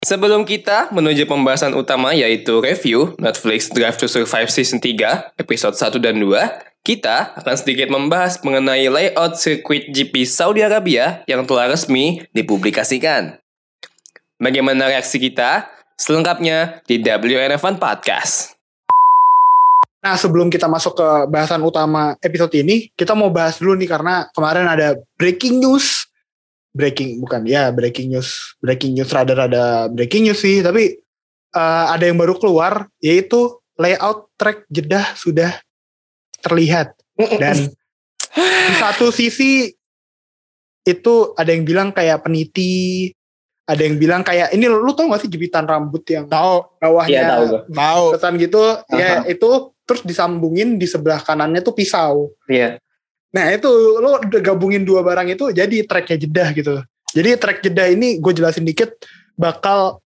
Sebelum kita menuju pembahasan utama yaitu review Netflix Drive to Survive Season 3, episode 1 dan 2, kita akan sedikit membahas mengenai layout sirkuit GP Saudi Arabia yang telah resmi dipublikasikan. Bagaimana reaksi kita? Selengkapnya di WNF1 Podcast. Nah, sebelum kita masuk ke bahasan utama episode ini, kita mau bahas dulu nih karena kemarin ada breaking news. Breaking news rada-rada breaking news sih, tapi ada yang baru keluar, yaitu layout track Jeddah sudah terlihat. Dan di satu sisi itu ada yang bilang kayak peniti, ada yang bilang kayak ini, lu tau gak sih jepitan rambut yang bawahnya ketan gitu, ya itu terus disambungin di sebelah kanannya tuh pisau. Iya. Nah itu lo udah gabungin dua barang itu jadi tracknya Jeddah gitu. Jadi track Jeddah ini gue jelasin dikit, bakal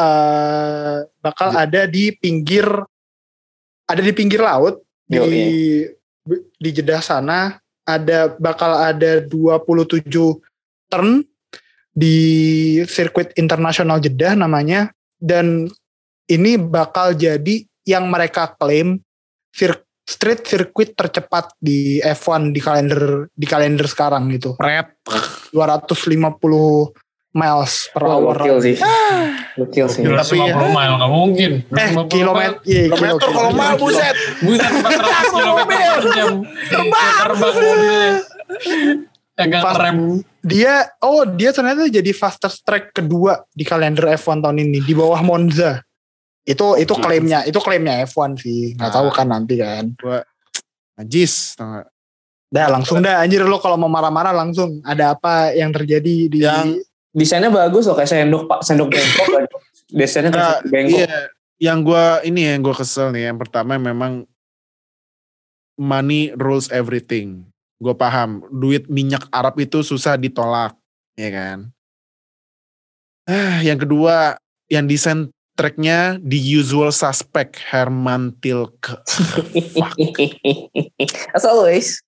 ada di pinggir laut di Jeddah sana. Bakal ada 27 turn di sirkuit internasional Jeddah namanya, dan ini bakal jadi yang mereka klaim street circuit tercepat di F1 di kalender sekarang gitu. 250 miles per hour. Gokil sih. Tapi 50 mile nggak mungkin. Kilometer kalau mile buset 400 km per jam. Terbang mobilnya. Agak rem. Dia ternyata jadi fastest track kedua di kalender F1 tahun ini di bawah Monza. Itu klaimnya F1 sih, nggak tahu kan nanti kan. Gua najis, tau gak? Dah langsung dah anjir, lo kalau mau marah-marah langsung. Ada apa yang terjadi di yang desainnya bagus loh, kayak sendok bengkok. Desainnya kayak bengkok. Iya, yang gue kesel nih. Yang pertama memang money rules everything. Gue paham, duit minyak Arab itu susah ditolak, ya kan. Yang kedua, yang desain tracknya the usual suspect Herman Tilke. As always.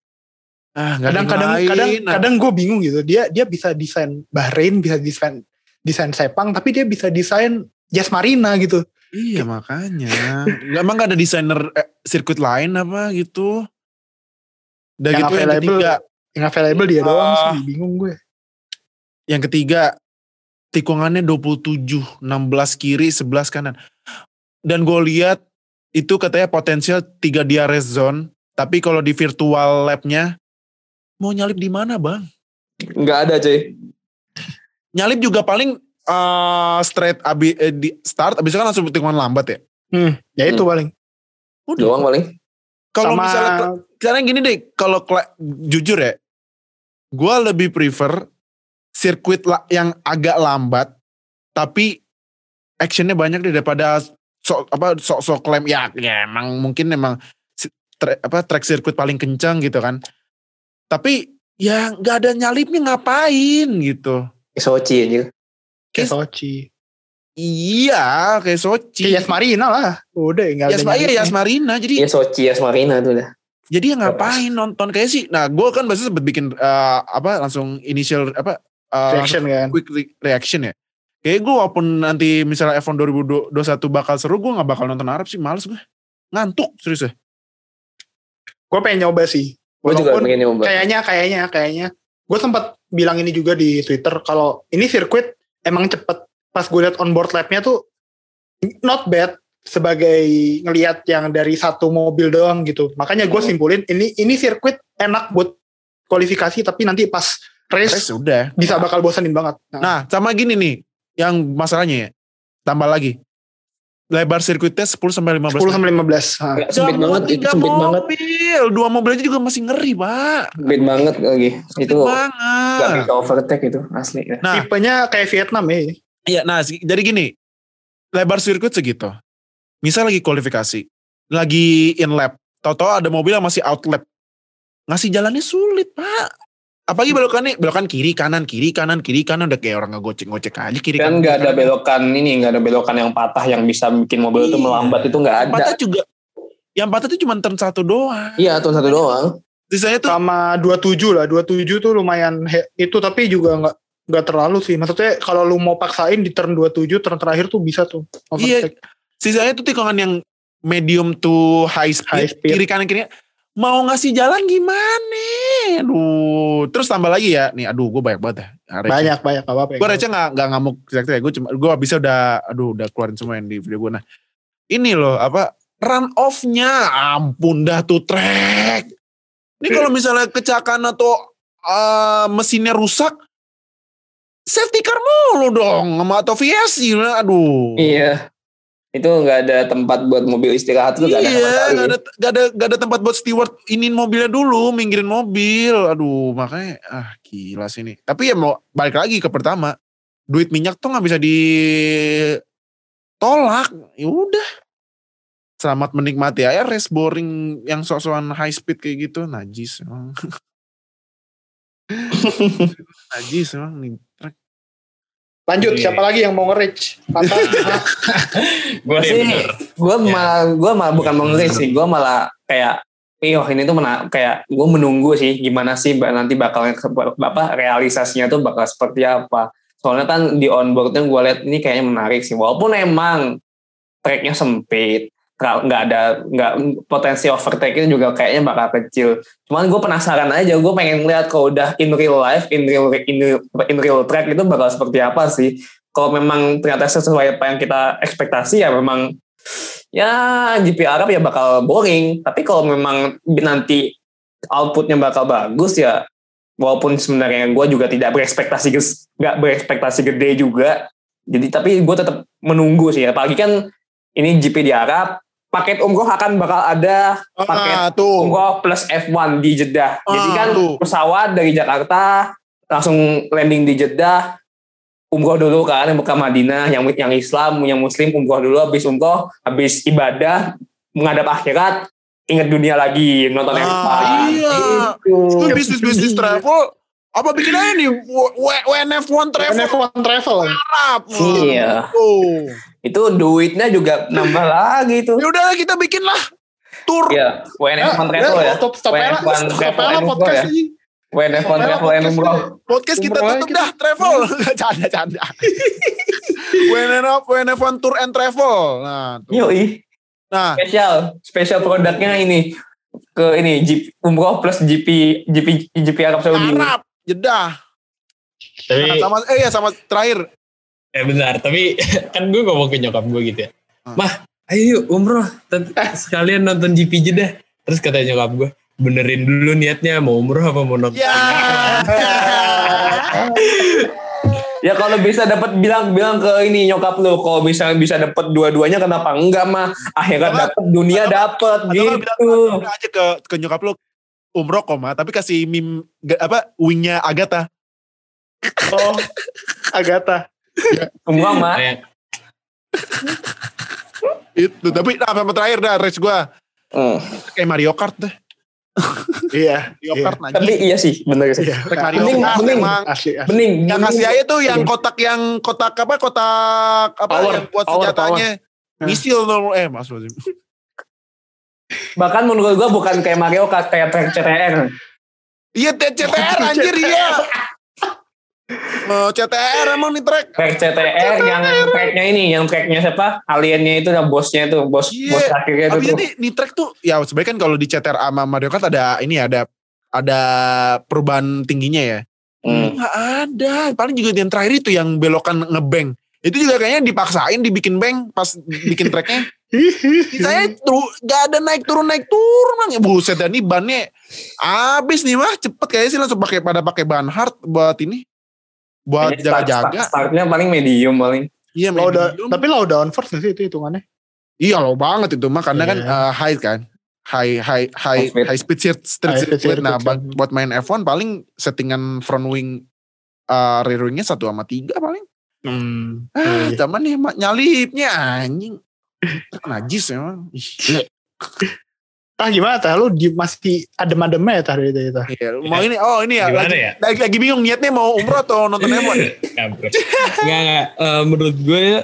Kadang gue bingung gitu. Dia bisa desain Bahrain, bisa desain Sepang, tapi dia bisa desain Jazz Marina gitu. Iya makanya. Emang gak ada desainer sirkuit lain apa gitu? Dan yang gitu yang available dia doang sih, bingung gue. Yang ketiga, tikungannya 27, 16 kiri, 11 kanan. Dan gue lihat itu katanya potensial 3 DRS zone, tapi kalau di virtual lab-nya mau nyalip di mana, Bang? Nggak ada, cuy. Nyalip juga paling straight di start, abis itu kan langsung tikungan lambat ya. Ya itu paling. Udah. Doang paling. Kalau misalnya gini deh, kalau jujur ya, gue lebih prefer sirkuit yang agak lambat tapi actionnya banyak deh daripada sok klaim ya emang mungkin track sirkuit paling kencang gitu kan, tapi ya nggak ada nyalipnya, ngapain gitu. Kayak Sochi aja. Kayak Sochi. Iya kayak Sochi. Kayak Yas Marina lah. Udah nggak ada nyalipnya. Yas Marina jadi. Iya Sochi Yas Marina tuh dah. Jadi ya ngapain nonton kayak sih. Nah gue kan biasanya sempet bikin langsung initial reaction kan. Quick reaction ya. Kayak gue walaupun nanti misalnya F1 2021 bakal seru, gue gak bakal nonton Arab sih, males gue. Ngantuk serius ya. Gue pengen nyoba sih. Gue juga pengen nyoba. Kayaknya. Gue sempat bilang ini juga di Twitter, kalau ini sirkuit emang cepet. Pas gue liat onboard lap-nya tuh not bad sebagai ngelihat yang dari satu mobil doang gitu. Makanya gue simpulin ini sirkuit enak buat kualifikasi, tapi nanti pas race udah bisa bakal bosanin banget. Nah sama gini nih yang masalahnya ya, tambah lagi lebar sirkuitnya 10-15 sempit banget, itu sempit banget. Dua mobil aja juga masih ngeri pak, sempit banget lagi itu banget, gak bisa overtake itu asli. Nah tipenya kayak Vietnam ya. Iya, nah jadi gini, lebar sirkuit segitu, misal lagi kualifikasi, lagi in lap, tau-tau ada mobil yang masih out lap, ngasih jalannya sulit pak. Apalagi belokan kiri kanan udah kayak orang ngegocek aja kiri kan. Kan nggak ada belokan yang patah yang bisa bikin mobil itu melambat, itu nggak ada. Patah juga, yang patah itu cuma turn 1 doang. Iya turn 1 doang. Sisanya tuh sama 27 lah, 27 tuh lumayan itu, tapi juga nggak Nggak terlalu sih. Maksudnya kalau lu mau paksain di turn 27, turn terakhir tuh bisa tuh. Iya. Overtake. Sisanya tuh tikungan yang medium to high High speed. speed. Kiri kanan kiri. Mau ngasih jalan gimana? Aduh. Terus tambah lagi ya. Nih aduh gue banyak banget ya. Banyak apa-apa. Gue receh gak ngamuk ya. Gue bisa udah keluarin semua yang di video gue. Nah ini loh run off-nya. Ampun dah tuh track. Ini kalau misalnya kecelakaan atau mesinnya rusak. Safety car mulu dong. Atau VSC. Aduh. Iya. Itu nggak ada tempat buat mobil istirahat tuh nggak ada sama sekali. Gak ada tempat buat steward inin mobilnya dulu, minggirin mobil. Aduh, makanya gila sih ini. Tapi ya mau balik lagi ke pertama, duit minyak tuh nggak bisa ditolak. Ya udah, selamat menikmati aja race boring yang sok-sokan high speed kayak gitu, najis emang. Najis emang nih. Lanjut, siapa lagi yang mau nge-reach? Gue malah bukan mau nge sih, gue malah kayak ini tuh kayak gue menunggu sih gimana sih nanti bakalnya realisasinya tuh bakal seperti apa. Soalnya kan di onboardnya gue lihat ini kayaknya menarik sih, walaupun emang tracknya sempit, nggak potensi overtake itu juga kayaknya bakal kecil. Cuman gue penasaran aja, gue pengen lihat kalau udah in real life, in real track itu bakal seperti apa sih. Kalau memang ternyata sesuai apa yang kita ekspektasi ya memang ya GP Arab ya bakal boring. Tapi kalau memang nanti outputnya bakal bagus ya, walaupun sebenarnya gue juga tidak berekspektasi gede juga. Jadi tapi gue tetap menunggu sih. Apalagi kan ini GP di Arab. Paket umroh bakal ada paket umroh plus F1 di Jeddah. Jadi kan pesawat dari Jakarta langsung landing di Jeddah, umroh dulu kan ke Madinah, yang Islam, yang Muslim umroh dulu, habis ibadah menghadap akhirat, ingat dunia lagi, nonton F1. Iya. Itu bisnis travel. Apa bikin aja nih WNF1 travel Arab. Iya. Itu duitnya juga nambah lagi tuh. Ya udah kita bikin lah tour. Iya, WNF1 travel ya. WNF1 travel podcast ini. WNF1 travel and umroh. Podcast kita tutup dah travel. Canda. WNF1 tour and travel. Nah, Yoi. Nah, spesial produknya ini ke umroh plus GP Arab Saudi. Arab. Jeddah. Tapi sama terakhir. Bentar, tapi kan gue ngomong ke nyokap gue gitu ya. Mah, ayo yuk umroh, sekalian nonton GP Jeddah. Terus kata nyokap gue, benerin dulu niatnya mau umroh apa mau nonton. Ya kalau bisa dapat bilang ke ini nyokap lu, kalau bisa dapat dua-duanya kenapa enggak mah? Akhirnya dapat, dunia dapat gitu. Bilang aja ke nyokap lu umroh tapi kasih meme wingnya Agatha. Oh, Agatha. Umroh mah. Itu tapi sama terakhir dah race gue. Kayak Mario Kart deh. Iya. Mario Kart najis. Tapi iya sih, bener sih. Bening. Yang kasih aja tuh yang kotak power, yang buat senjatanya. Misil maksudnya. Bahkan menurut gue bukan kayak Mario Kart, kayak track CTR. Iya CTR anjir iya. CTR emang nih track. Track CTR yang tracknya siapa? Aliennya itu, bosnya itu, bos akhirnya itu. Tapi ini track tuh ya sebenarnya kan kalau di CTR sama Mario Kart ada perubahan tingginya ya. Nggak ada. Paling juga yang terakhir itu yang belokan ngebeng. Itu juga kayaknya dipaksain dibikin bank pas bikin tracknya. Saya gak ada naik turun mang. Buset dah nih bannya abis nih mah cepet kayaknya sih langsung pakai bahan hard buat ini. Buat jaga-jaga. Startnya paling medium paling. Iya medium. Tapi low down first gak sih itu hitungannya? Iya low banget itu mah karena kan high kan. High speed circuit. Nah buat main F1 paling settingan front wing rear wingnya 1/3 paling. Cuman nih nyalipnya anjing. Najis emang. Gimana tah? Lu masih adem-ademnya ya tah dari itu? Iya, mau ini ya. Gimana ya? Lagi bingung niatnya mau umroh atau nonton F1? Enggak. Menurut gue ya,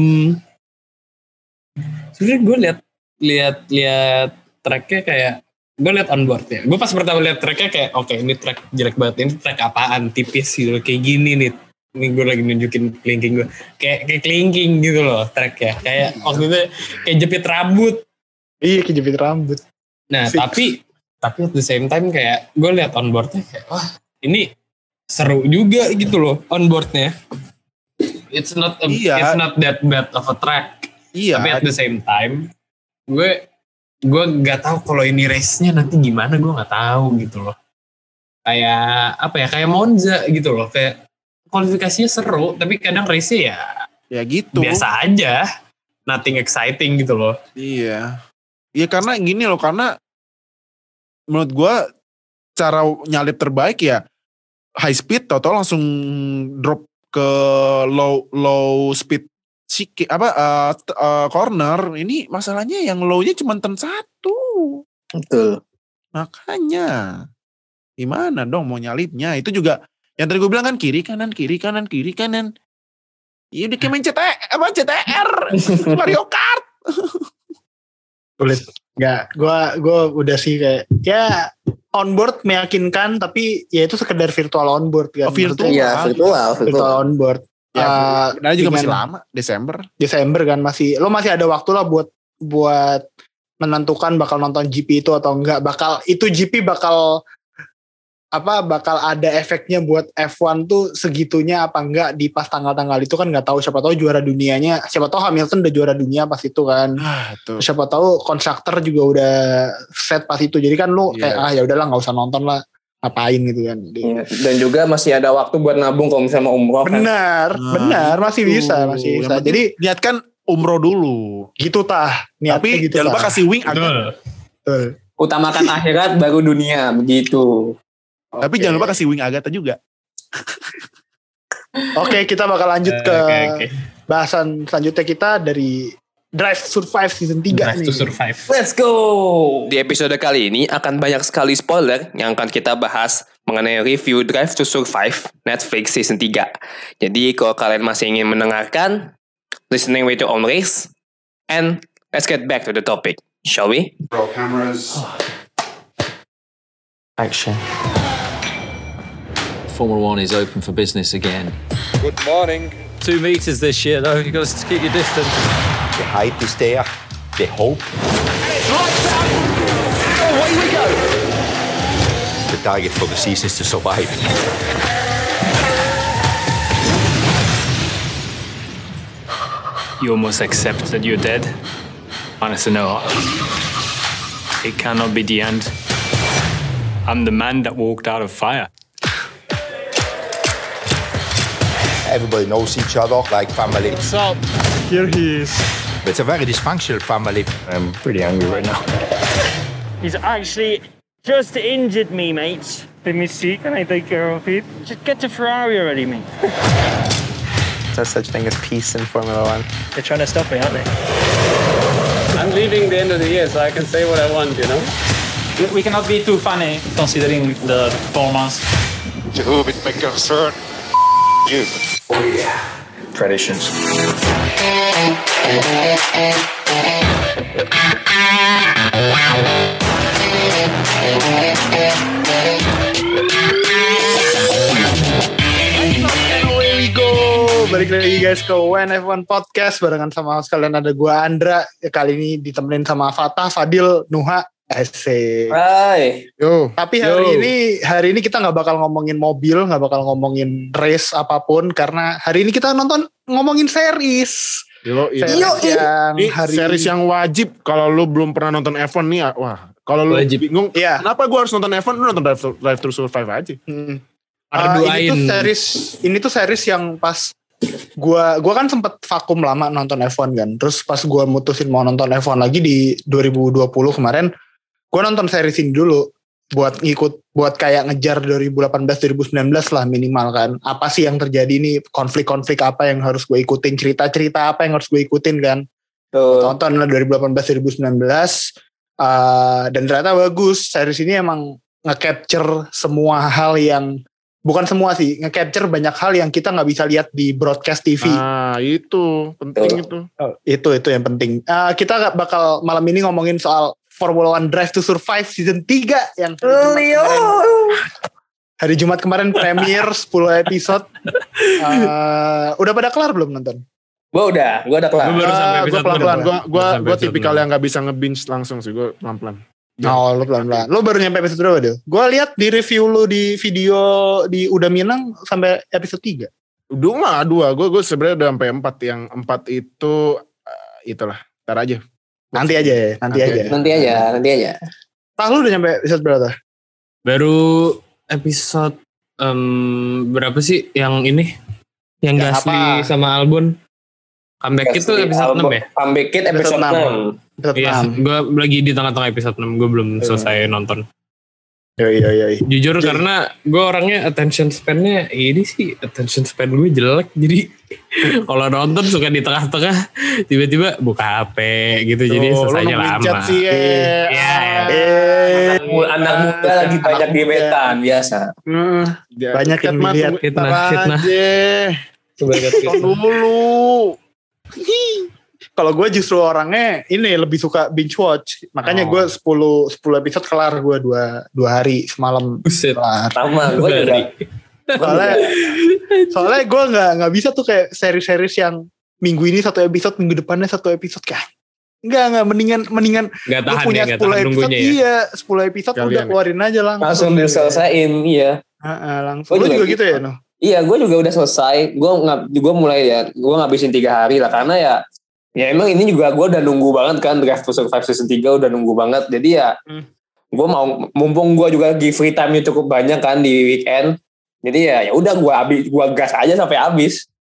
sebenarnya gue lihat tracknya kayak gue liat onboardnya. Gue pas pertama liat tracknya kayak oke, ini track jelek banget, ini track apaan, tipis gitu, kayak gini nih. Ini gue lagi nunjukin kelingking gue, kayak kelingking gitu loh tracknya, kayak waktu itu kayak jepit rambut. Iya, kayak jepit rambut. Nah tapi at the same time kayak gue liat onboardnya kayak wah ini seru juga gitu loh onboardnya. It's not that bad of a track. Iya. Tapi at the same time gue nggak tahu kalau ini race-nya nanti gimana, gue nggak tahu gitu loh. Kayak apa ya, kayak Monza gitu loh, kayak kualifikasinya seru tapi kadang race-nya ya gitu. Biasa aja, nothing exciting gitu loh. Iya. Iya karena gini loh, karena menurut gue cara nyalip terbaik ya high speed atau langsung drop ke low speed corner. Ini masalahnya yang low-nya cuma turn 1. Betul. Makanya gimana dong mau nyalipnya? Itu juga yang tadi gue bilang kan kiri kanan. Iya udah kayak main CTR Mario Kart. Sulit. Enggak, gue udah sih kayak ya onboard meyakinkan, tapi ya itu sekedar virtual onboard kan. Virtual. Iya, virtual onboard. Ya, juga masih lama, Desember kan masih ada waktu lah buat menentukan bakal nonton GP itu atau enggak, GP bakal ada efeknya buat F1 tuh segitunya apa enggak di pas tanggal-tanggal itu kan nggak tahu. Siapa tahu juara dunianya, siapa tahu Hamilton udah juara dunia pas itu kan. Siapa tahu konstruktor juga udah set pas itu. Jadi kan lu kayak ya udahlah nggak usah nonton lah, ngapain gitu kan. Dan juga masih ada waktu buat nabung kalau misalnya mau umroh kan. Benar, masih bisa. Jadi niatkan umroh dulu. Gitu tah. Tapi gitu jangan lupa kasih wing agak. Utamakan akhirat baru dunia, begitu. Tapi jangan lupa kasih wing Agatha juga. Oke, kita bakal lanjut ke bahasan selanjutnya kita dari Drive to Survive season 3 Drive to Survive. Let's go! Di episode kali ini akan banyak sekali spoiler yang akan kita bahas mengenai review Drive to Survive Netflix season 3. Jadi kalau kalian masih ingin mendengarkan, listening with your own race, and let's get back to the topic, shall we? Roll cameras. Action. Formula One is open for business again. Good morning. 2 meters this year, though. You've got to keep your distance. The hype is there, the hope. Away we go. The target for the season is to survive. You almost accept that you're dead. Honestly, no. It cannot be the end. I'm the man that walked out of fire. Everybody knows each other like family. What's up? Here he is. It's a very dysfunctional family. I'm pretty angry right now. He's actually just injured me, mate. Let me see, can I take care of it? Just get to Ferrari already, mate. There's such thing as peace in Formula One. They're trying to stop me, aren't they? I'm leaving the end of the year, so I can say what I want, you know? We cannot be too funny, considering the performance. Who would make concern? You. Oh yeah, traditions. Balik lagi guys ke WNF1 Podcast barengan sama sekalian ada gua Andra. Kali ini ditemenin sama Fatah, Fadil, Nuha. Asik. Hai. Tapi hari ini kita nggak bakal ngomongin mobil, nggak bakal ngomongin race apapun karena hari ini kita ngomongin series. Series yang wajib kalau lu belum pernah nonton F1 nih, wah. Kalau lu bingung, kenapa gue harus nonton F1? Lu nonton Drive to Survive aja. Ini tuh series yang pas gua kan sempet vakum lama nonton F1 kan. Terus pas gua mutusin mau nonton F1 lagi di 2020 kemarin, gue nonton series ini dulu buat kayak ngejar 2018-2019 lah minimal kan. Apa sih yang terjadi nih, konflik-konflik apa yang harus gue ikutin, cerita-cerita apa yang harus gue ikutin kan. Tonton lah 2018-2019 dan ternyata bagus. Series ini emang nge-capture semua hal yang, bukan semua sih, nge-capture banyak hal yang kita gak bisa lihat di broadcast TV. Itu penting itu. Itu yang penting. Kita bakal malam ini ngomongin soal Formula One Drive to Survive season 3 yang hari Jumat kemarin premier 10 episode. Udah pada kelar belum nonton? Gue udah kelar. Gue baru sampai episode pelan-pelan. Gue tipikal yang gak bisa nge-binge langsung sih. Gue pelan-pelan. Oh, lu pelan-pelan. Lu baru nyampe episode berapa, Del? Gue lihat di review lu di video di Udah Minang sampai episode 3. Udah 2. Gue sebenarnya udah sampai 4. Yang 4 itu itulah. Ntar aja. Nanti aja. Pak, lu udah nyampe episode berapa? Baru episode berapa sih yang ini? Yang Gasly sama Albon. Comeback itu episode 6 ya? Comeback it episode 6. Iya, gue lagi di tengah-tengah episode 6. Gue belum selesai nonton. Iya. Jujur karena gue orangnya attention span-nya attention span gue jelek. Jadi kalau nonton suka di tengah-tengah tiba-tiba buka HP gitu. Jadi selesainya lama. Anak muda lagi banyak gebetan biasa. Banyak yang lihat fitnah. Tonton dulu. Kalau gue justru orangnya ini lebih suka binge watch. Makanya gue 10 episode kelar gue 2 hari semalam. Kelar. Sama gue juga. Soalnya gue nggak bisa tuh kayak series yang minggu ini 1 episode, minggu depannya 1 episode kayak. Enggak mendingan gue punya 10 episode. Iya, 10 episode udah keluarin aja langsung diselesain. Iya. Langsung. Gue juga gitu ya, no? Iya, gue juga udah selesai. Gue mulai gue ngabisin 3 hari lah karena ya emang ini juga gue udah nunggu banget kan Drive to Survive season 3 udah nunggu banget. Jadi ya gue mau mumpung gue juga di free time-nya cukup banyak kan di weekend. Jadi ya udah gue gas aja sampai habis.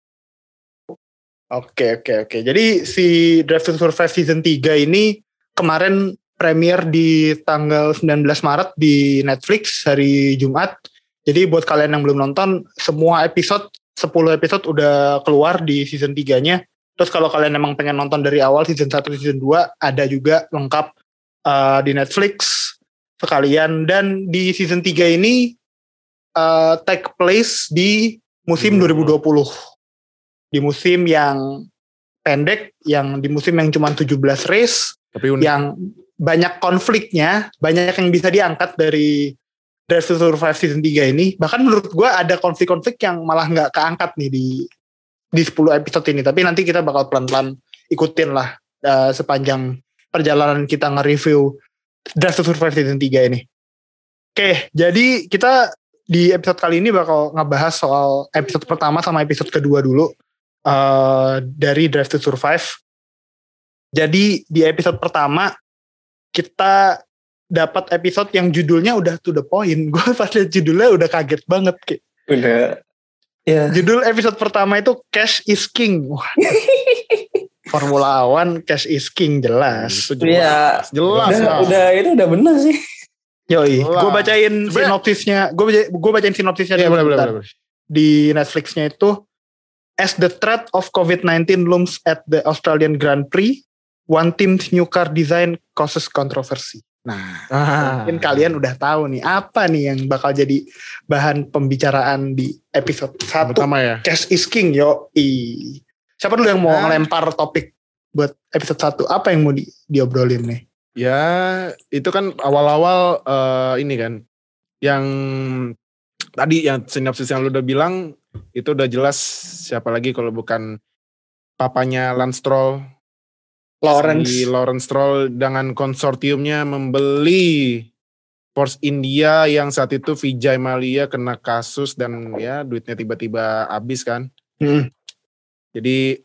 Oke. Jadi si Drive to Survive season 3 ini kemarin premier di tanggal 19 Maret di Netflix hari Jumat. Jadi buat kalian yang belum nonton, semua episode 10 episode udah keluar di season 3-nya. Terus kalau kalian emang pengen nonton dari awal season 1, season 2 ada juga lengkap di Netflix sekalian. Dan di season 3 ini take place di musim 2020. Di musim yang pendek, di musim yang cuma 17 race. Tapi unik. Yang banyak konfliknya, banyak yang bisa diangkat dari Drive to Survive season 3 ini. Bahkan menurut gue ada konflik-konflik yang malah gak keangkat nih di 10 episode ini. Tapi nanti kita bakal pelan-pelan ikutin lah sepanjang perjalanan kita nge-review Drive to Survive season 3 ini. Oke, jadi kita di episode kali ini bakal ngebahas soal episode pertama sama episode kedua dulu dari Drive to Survive. Jadi di episode pertama kita dapat episode yang judulnya udah to the point. Gue pas liat judulnya udah kaget banget kayak. Udah. Ya. Judul episode pertama itu Cash is King. Wah. Formula One Cash is King jelas. Jelas. Udah itu udah benar sih. Yoi, gue bacain sinopsisnya. Gue bacain sinopsisnya boleh. Di Netflixnya itu, as the threat of COVID-19 looms at the Australian Grand Prix, one team's new car design causes controversy. Nah, mungkin kalian udah tahu nih apa nih yang bakal jadi bahan pembicaraan di episode 1 pertama ya. Cash is King, yoi. Siapa dulu yang mau ngelempar topik buat episode 1? Apa yang mau diobrolin nih? Ya, itu kan awal-awal ini kan. Yang tadi yang sinopsis yang lu udah bilang, itu udah jelas siapa lagi kalau bukan papanya Lance Stroll. Lawrence Stroll dengan konsortiumnya membeli Force India yang saat itu Vijay Mallya kena kasus dan ya duitnya tiba-tiba habis kan. Jadi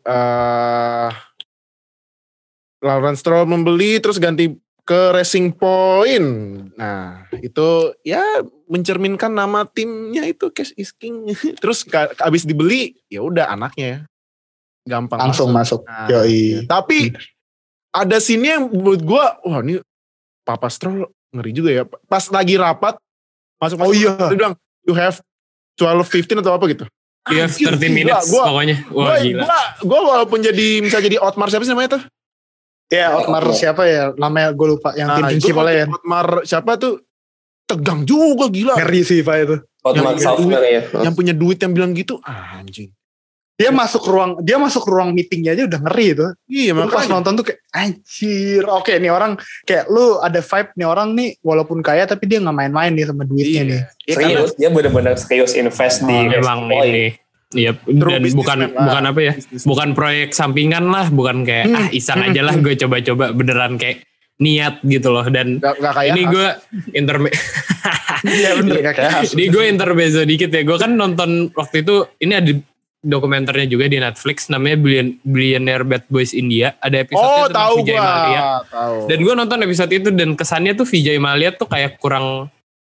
Lawrence Stroll membeli terus ganti ke Racing Point. Nah itu ya mencerminkan nama timnya itu Cash is King. Terus habis dibeli ya udah anaknya gampang langsung masuk. Nah, yoi. Tapi ada scene yang menurut gue, wah ini Papa Stroll ngeri juga ya. Pas lagi rapat, masuk dia bilang, you have 12-15 atau apa gitu. You have 30 minutes pokoknya. Wah gila. Gue walaupun bisa jadi Otmar siapa sih namanya tuh? Ya Otmar siapa ya, namanya gue lupa. Yang tim principalnya ya. Otmar siapa tuh, tegang juga gila. Ngeri sih Pak itu. Otmar Saufner ya. Yang punya duit yang bilang gitu, anjing. Dia masuk ruang meetingnya aja udah ngeri tuh. Iya, Lu pas nonton tuh kayak anjir. Oke, nih orang kayak lu ada vibe nih orang nih walaupun kaya tapi dia nggak main-main nih sama duitnya nih. Serius, dia benar-benar serius invest di emang Point. ini. Iya, dan bukan apa ya? Bukan proyek sampingan lah, bukan kayak iseng aja lah gue coba-coba, beneran kayak niat gitu loh. Dan gak kayak ini gue Iya bener gak kayak ini gue intermezzo dikit ya. Gue kan nonton waktu itu, ini ada dokumenternya juga di Netflix namanya Billionaire Bad Boys India. Ada episode tentang Vijay Mallya. Dan gue nonton episode itu dan kesannya tuh Vijay Mallya tuh kayak kurang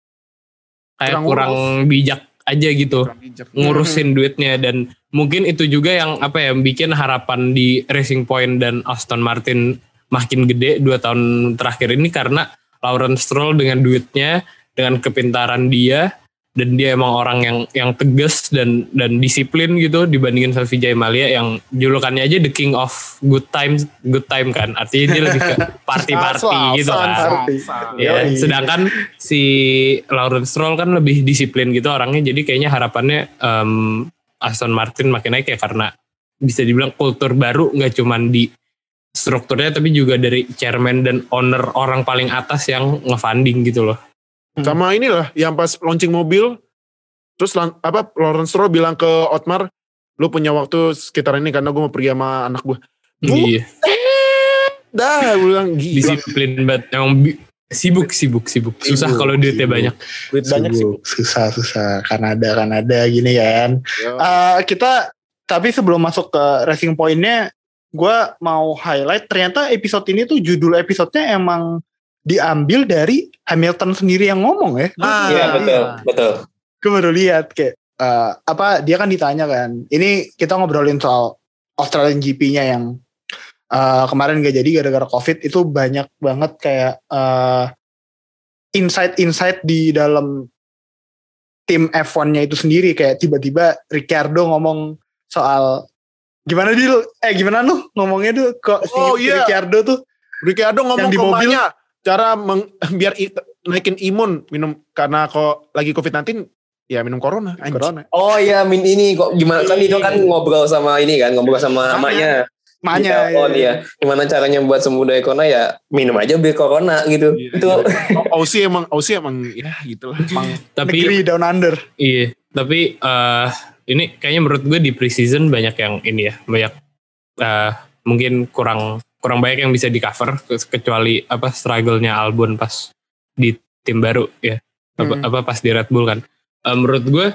bijak aja gitu ngurusin duitnya. Dan mungkin itu juga yang bikin harapan di Racing Point dan Aston Martin makin gede 2 tahun terakhir ini, karena Lawrence Stroll dengan duitnya, dengan kepintaran dia, dan dia emang orang yang tegas dan disiplin gitu dibandingin sama Vijay Mallya yang julukannya aja the king of good time kan, artinya dia lebih ke party gitu kan. Ya, sedangkan si Lawrence Stroll kan lebih disiplin gitu orangnya, jadi kayaknya harapannya Aston Martin makin naik ya, karena bisa dibilang kultur baru nggak cuman di strukturnya tapi juga dari chairman dan owner, orang paling atas yang nge-funding gitu loh. Sama inilah yang pas launching mobil, terus Lawrence Stroll bilang ke Otmar, lu punya waktu sekitar ini karena gue mau pergi sama anak gue. Iya. Dah, gue bilang gila. Disiplin banget, emang sibuk. Susah kalau duitnya banyak. Duit banyak sibuk. Susah. Kanada gini kan. Kita tapi sebelum masuk ke Racing Point-nya, gue mau highlight ternyata episode ini tuh judul episodenya emang diambil dari Hamilton sendiri yang ngomong ya. Iya betul. Gue baru lihat kayak dia kan ditanya kan. Ini kita ngobrolin soal Australian GP-nya yang kemarin gak jadi gara-gara COVID. Itu banyak banget kayak insight di dalam tim F1-nya itu sendiri, kayak tiba-tiba Ricciardo ngomong soal gimana lu ngomongnya tuh kok Ricciardo ngomong di mobilnya cara biar naikin imun minum, karena kok lagi COVID-19 ya minum corona. Oh iya, ini kok gimana kan itu kan ngobrol sama emaknya. Iya. Gimana caranya buat sembuh dari corona, ya minum aja bir corona gitu. Itu Aussie emang ya gitulah. Tapi negeri down under. Iya, tapi ini kayaknya menurut gue di pre-season banyak yang ini ya, banyak mungkin kurang banyak yang bisa di cover, kecuali struggle-nya Albon pas di tim baru ya, pas di Red Bull kan. Menurut gue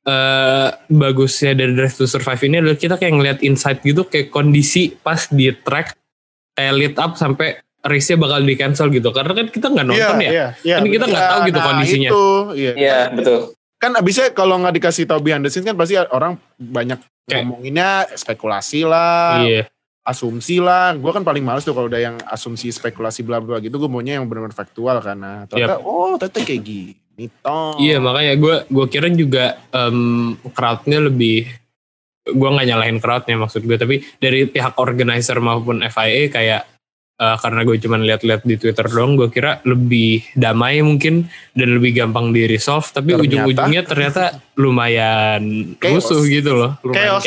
bagusnya dari Drive to Survive ini adalah kita kayak ngeliat insight gitu, kayak kondisi pas di track kayak lead up sampai race-nya bakal di cancel gitu, karena kan kita nggak nonton kan kita nggak tahu gitu kondisinya. Iya betul. Kan abisnya kalau nggak dikasih tahu behind the scenes kan pasti orang banyak ngomonginnya spekulasi lah. Iya. Asumsi lah, gue kan paling males tuh kalau udah yang asumsi spekulasi bla bla gitu. Gue maunya yang benar-benar faktual, karena ternyata kayak gini toh. Iya, makanya gue kira juga crowdnya lebih, gue nggak nyalahin crowdnya maksud gue, tapi dari pihak organizer maupun FIA kayak karena gue cuma lihat-lihat di Twitter doang, gue kira lebih damai mungkin dan lebih gampang di resolve, tapi ujung-ujungnya ternyata lumayan rusuh gitu loh, lumayan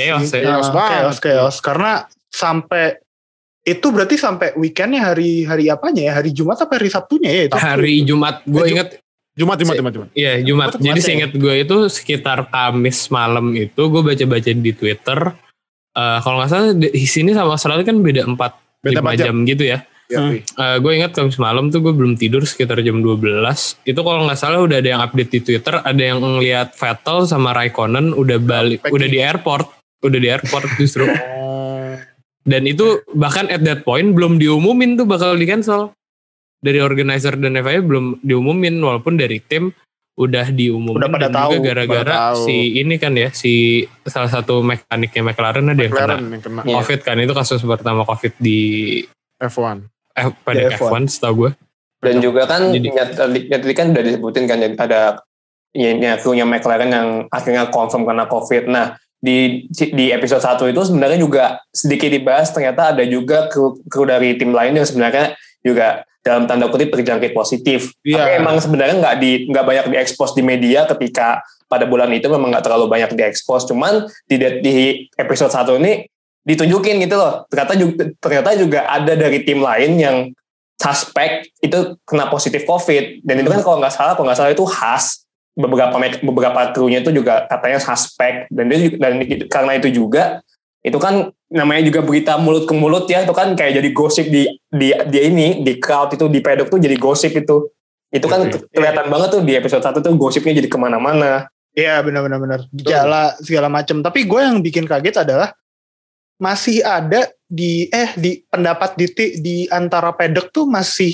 chaos karena sampai itu berarti sampai weekendnya hari apanya ya, hari Jumat apa hari Sabtunya ya itu? Hari Jumat, gue inget Jumat. Iya Jumat. Jadi seinget gue itu sekitar Kamis malam itu gue baca-baca di Twitter. Kalau nggak salah di sini sama Australia kan beda 4-5 jam gitu ya. Gue ingat Kamis malam tuh gue belum tidur sekitar jam 12. Itu kalau nggak salah udah ada yang update di Twitter, ada yang ngeliat Vettel sama Raikkonen udah balik, udah di airport justru. Dan itu bahkan at that point belum diumumin tuh bakal di cancel. Dari organizer dan FIA belum diumumin, walaupun dari tim udah diumumin. Udah pada dan tahu, juga gara-gara si ini kan ya, si salah satu mekaniknya McLaren ada yang kena COVID kan. Itu kasus pertama COVID di F1. Pada F1 setahu gue. Dan juga kan tadi kan udah disebutin kan ada krunya McLaren yang akhirnya confirm kena COVID. Nah, di episode 1 itu sebenarnya juga sedikit dibahas, ternyata ada juga kru dari tim lain yang sebenarnya juga dalam tanda kutip terjangkit positif. Iya. Tapi emang sebenarnya nggak banyak diekspos di media ketika pada bulan itu memang nggak terlalu banyak diekspos. Cuman di episode 1 ini ditunjukin gitu loh. Ternyata juga ada dari tim lain yang suspek itu kena positif COVID. Dan itu kan kalau nggak salah itu khas. Beberapa krunya itu juga katanya suspek. Dan karena itu juga itu kan namanya juga berita mulut ke mulut ya, itu kan kayak jadi gosip di crowd itu, di pedok tuh jadi gosip itu kan kelihatan banget tuh di episode 1 tuh gosipnya jadi kemana-mana. Iya benar segala macam. Tapi gue yang bikin kaget adalah masih ada di pendapat di antara pedok tuh masih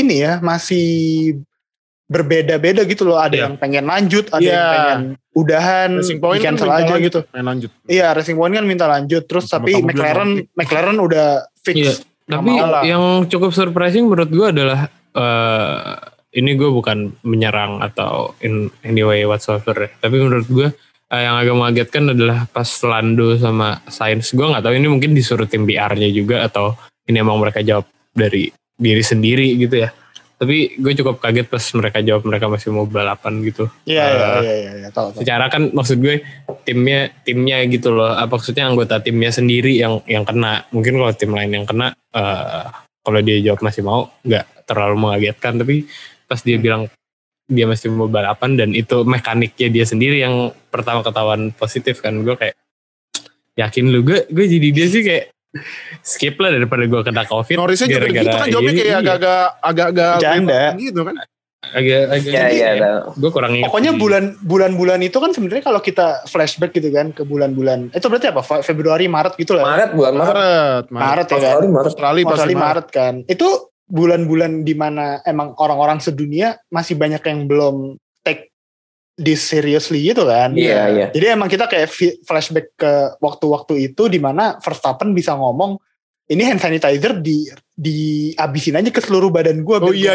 berbeda-beda gitu loh. Ada yang pengen lanjut, ada yang pengen udahan, cancel aja gitu. Lanjut. Iya, Racing Point kan minta lanjut terus, tapi McLaren udah fix. Iya. Tapi yang cukup surprising menurut gue adalah ini gue bukan menyerang atau in any way whatsoever ya. Tapi menurut gue yang agak mengagetkan adalah pas Lando sama Sainz. Gue nggak tahu ini mungkin disuruh tim PR-nya juga atau ini emang mereka jawab dari diri sendiri gitu ya. Tapi gue cukup kaget pas mereka jawab mereka masih mau balapan gitu. Iya, tahu. Secara kan maksud gue timnya gitu loh. Apa maksudnya anggota timnya sendiri yang kena. Mungkin kalau tim lain yang kena, kalau dia jawab masih mau, nggak terlalu mengagetkan. Tapi pas dia bilang dia masih mau balapan dan itu mekaniknya dia sendiri yang pertama ketahuan positif kan, gue kayak yakin lu gue jadi dia sih kayak skip lah daripada gue kena COVID. Norrisnya juga gitu kan jawabnya kayak agak-agak janda gitu kan. Agak gue kurang ingat. Pokoknya bulan-bulan itu kan sebenarnya kalau kita flashback gitu kan ke bulan-bulan itu berarti apa? Februari, Maret gitu lah. Maret ya kan. Australia Maret kan. Itu bulan-bulan di mana emang orang-orang sedunia masih banyak yang belum take this seriously gitu kan. Iya. Jadi emang kita kayak flashback ke waktu-waktu itu di mana Verstappen bisa ngomong ini hand sanitizer dihabisin aja ke seluruh badan gue. Oh iya.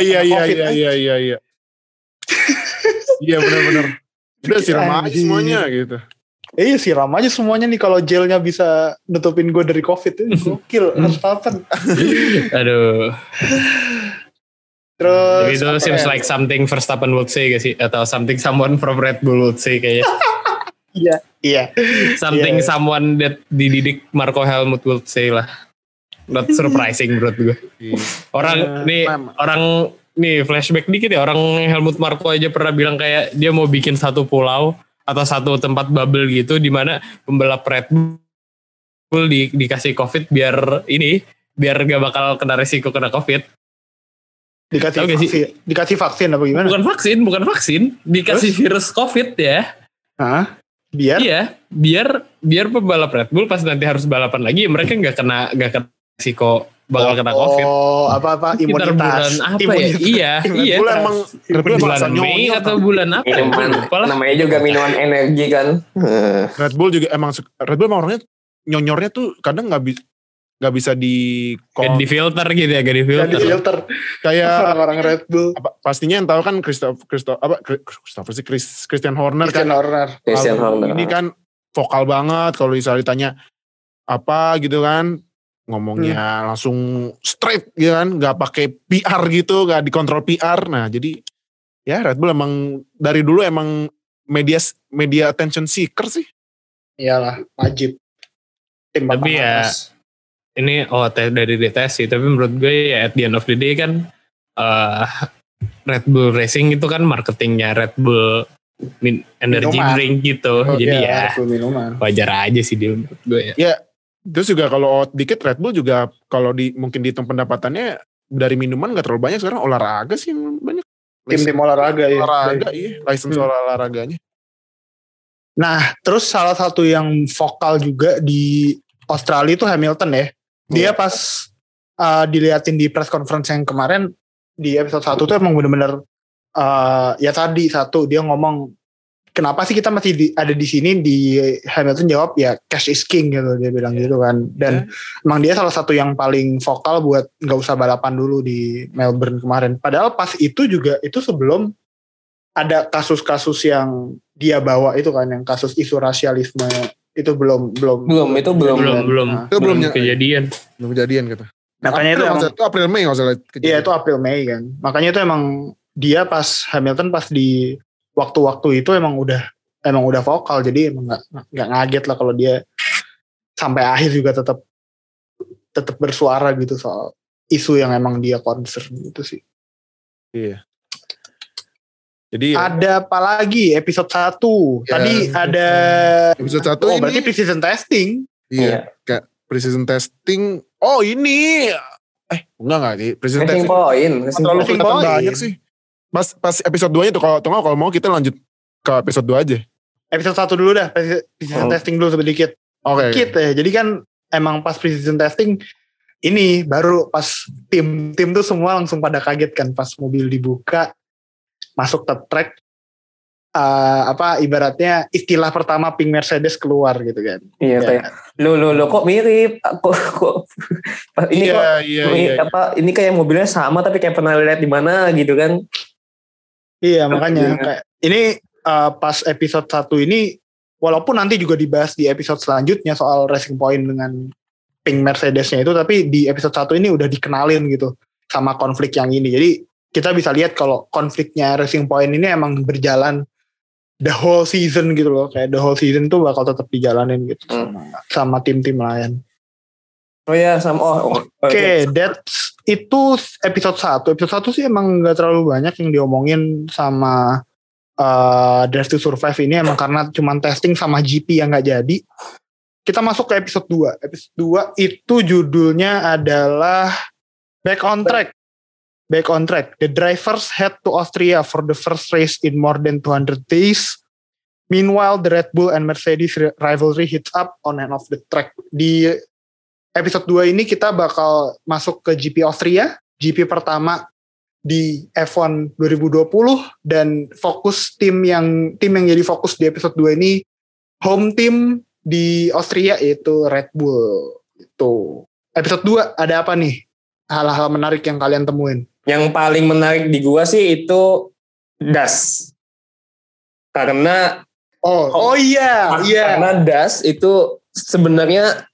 Iya benar-benar. Udah siram aja semuanya gitu. Iya siram aja semuanya nih kalau gelnya bisa nutupin gue dari COVID itu gokil Verstappen. Aduh. Terus itu seems like something Verstappen would say gak sih? Atau something someone from Red Bull would say kayaknya. Iya. Something someone that dididik Marco Helmut would say lah. Not surprising menurut gue. Orang nih flashback dikit ya. Orang Helmut Marko aja pernah bilang kayak dia mau bikin satu pulau atau satu tempat bubble gitu di mana pembalap Red Bull dikasih COVID biar gak bakal kena resiko kena COVID. Dikasih vaksin apa gimana? Bukan vaksin, dikasih virus COVID ya. Hah? Biar pembalap Red Bull pas nanti harus balapan lagi mereka gak kena resiko bakal kena COVID. Oh, apa imunitas. Bulan apa ya? Iya. Red Bull bulan Mei atau bulan apa? Namanya juga minuman energi kan. Red Bull emang orangnya nyonyornya tuh kadang nggak bisa di filter gitu ya, di filter. Kayak orang Red Bull. Pastinya yang tahu kan Christian Horner kan. Christian Horner. Ini kan vokal banget kalau misalnya ditanya apa gitu kan. Ngomongnya langsung straight gitu kan, nggak pakai PR gitu, nggak dikontrol PR. Nah jadi ya Red Bull emang dari dulu emang media attention seeker sih. Iyalah wajib. Tapi ya ini dari DTS sih. Tapi menurut gue ya at the end of the day kan Red Bull Racing itu kan marketingnya Red Bull energy drink gitu. Jadi ya wajar aja sih dia menurut gue ya. Ya. Terus juga kalau dikit Red Bull juga kalau mungkin dihitung pendapatannya dari minuman gak terlalu banyak, sekarang olahraga sih yang banyak. Tim olahraga ya. License olahraganya. Nah terus salah satu yang vokal juga di Australia itu Hamilton ya. Dia pas diliatin di press conference yang kemarin di episode 1 tuh emang bener-bener dia ngomong kenapa sih kita masih ada di sini. Di Hamilton jawab ya cash is king gitu, dia bilang gitu kan. Dan emang dia salah satu yang paling vokal buat nggak usah balapan dulu di Melbourne kemarin. Padahal pas itu juga itu sebelum ada kasus-kasus yang dia bawa itu kan, yang kasus isu rasialisme itu belum kejadian. Belum kejadian gitu. Makanya itu emang, itu April Mei nggak salah. Iya itu April Mei kan. Makanya itu emang dia pas Hamilton pas di waktu-waktu itu emang udah vokal, jadi emang nggak ngaget lah kalau dia sampai akhir juga tetap bersuara gitu soal isu yang emang dia concern gitu sih. Iya. Jadi ada apa lagi episode 1? Ya, tadi ada episode 1 ini. berarti pre-season testing. Iya, kayak pre-season testing. Oh, ini enggak sih. Pre-season testing terlalu kelihatan banyak sih. Pas episode 2-nya tuh kalau mau kita lanjut ke episode 2 aja. Episode 1 dulu dah, pre-season testing dulu sedikit. Oke. Sedikit ya. Jadi kan emang pas pre-season testing ini baru pas tim tuh semua langsung pada kaget kan pas mobil dibuka masuk ke track, ibaratnya istilah pertama pink Mercedes keluar gitu kan. Iya kayak lo kok mirip kok ini ini kayak mobilnya sama tapi kayak pernah lihat di mana gitu kan. Iya makanya kayak ini pas episode 1 ini walaupun nanti juga dibahas di episode selanjutnya soal Racing Point dengan pink Mercedesnya itu, tapi di episode 1 ini udah dikenalin gitu sama konflik yang ini. Jadi kita bisa lihat kalau konfliknya Racing Point ini emang berjalan the whole season gitu loh. Kayak the whole season tuh bakal tetap dijalanin gitu sama tim-tim lain. Oh ya, Oke, itu episode 1. Episode 1 sih emang gak terlalu banyak yang diomongin sama Drive to Survive ini, emang karena cuman testing sama GP yang gak jadi. Kita masuk ke episode 2. Episode 2 itu judulnya adalah Back on Track. Back on Track. The drivers head to Austria for the first race in more than 200 days. Meanwhile, the Red Bull and Mercedes rivalry heats up on and off the track. Di episode 2 ini kita bakal masuk ke GP Austria, GP pertama di F1 2020, dan fokus tim yang jadi fokus di episode 2 ini home team di Austria yaitu Red Bull. Itu. Episode 2 ada apa nih? Hal-hal menarik yang kalian temuin? Yang paling menarik di gua sih itu Das. Karena karena Das itu sebenarnya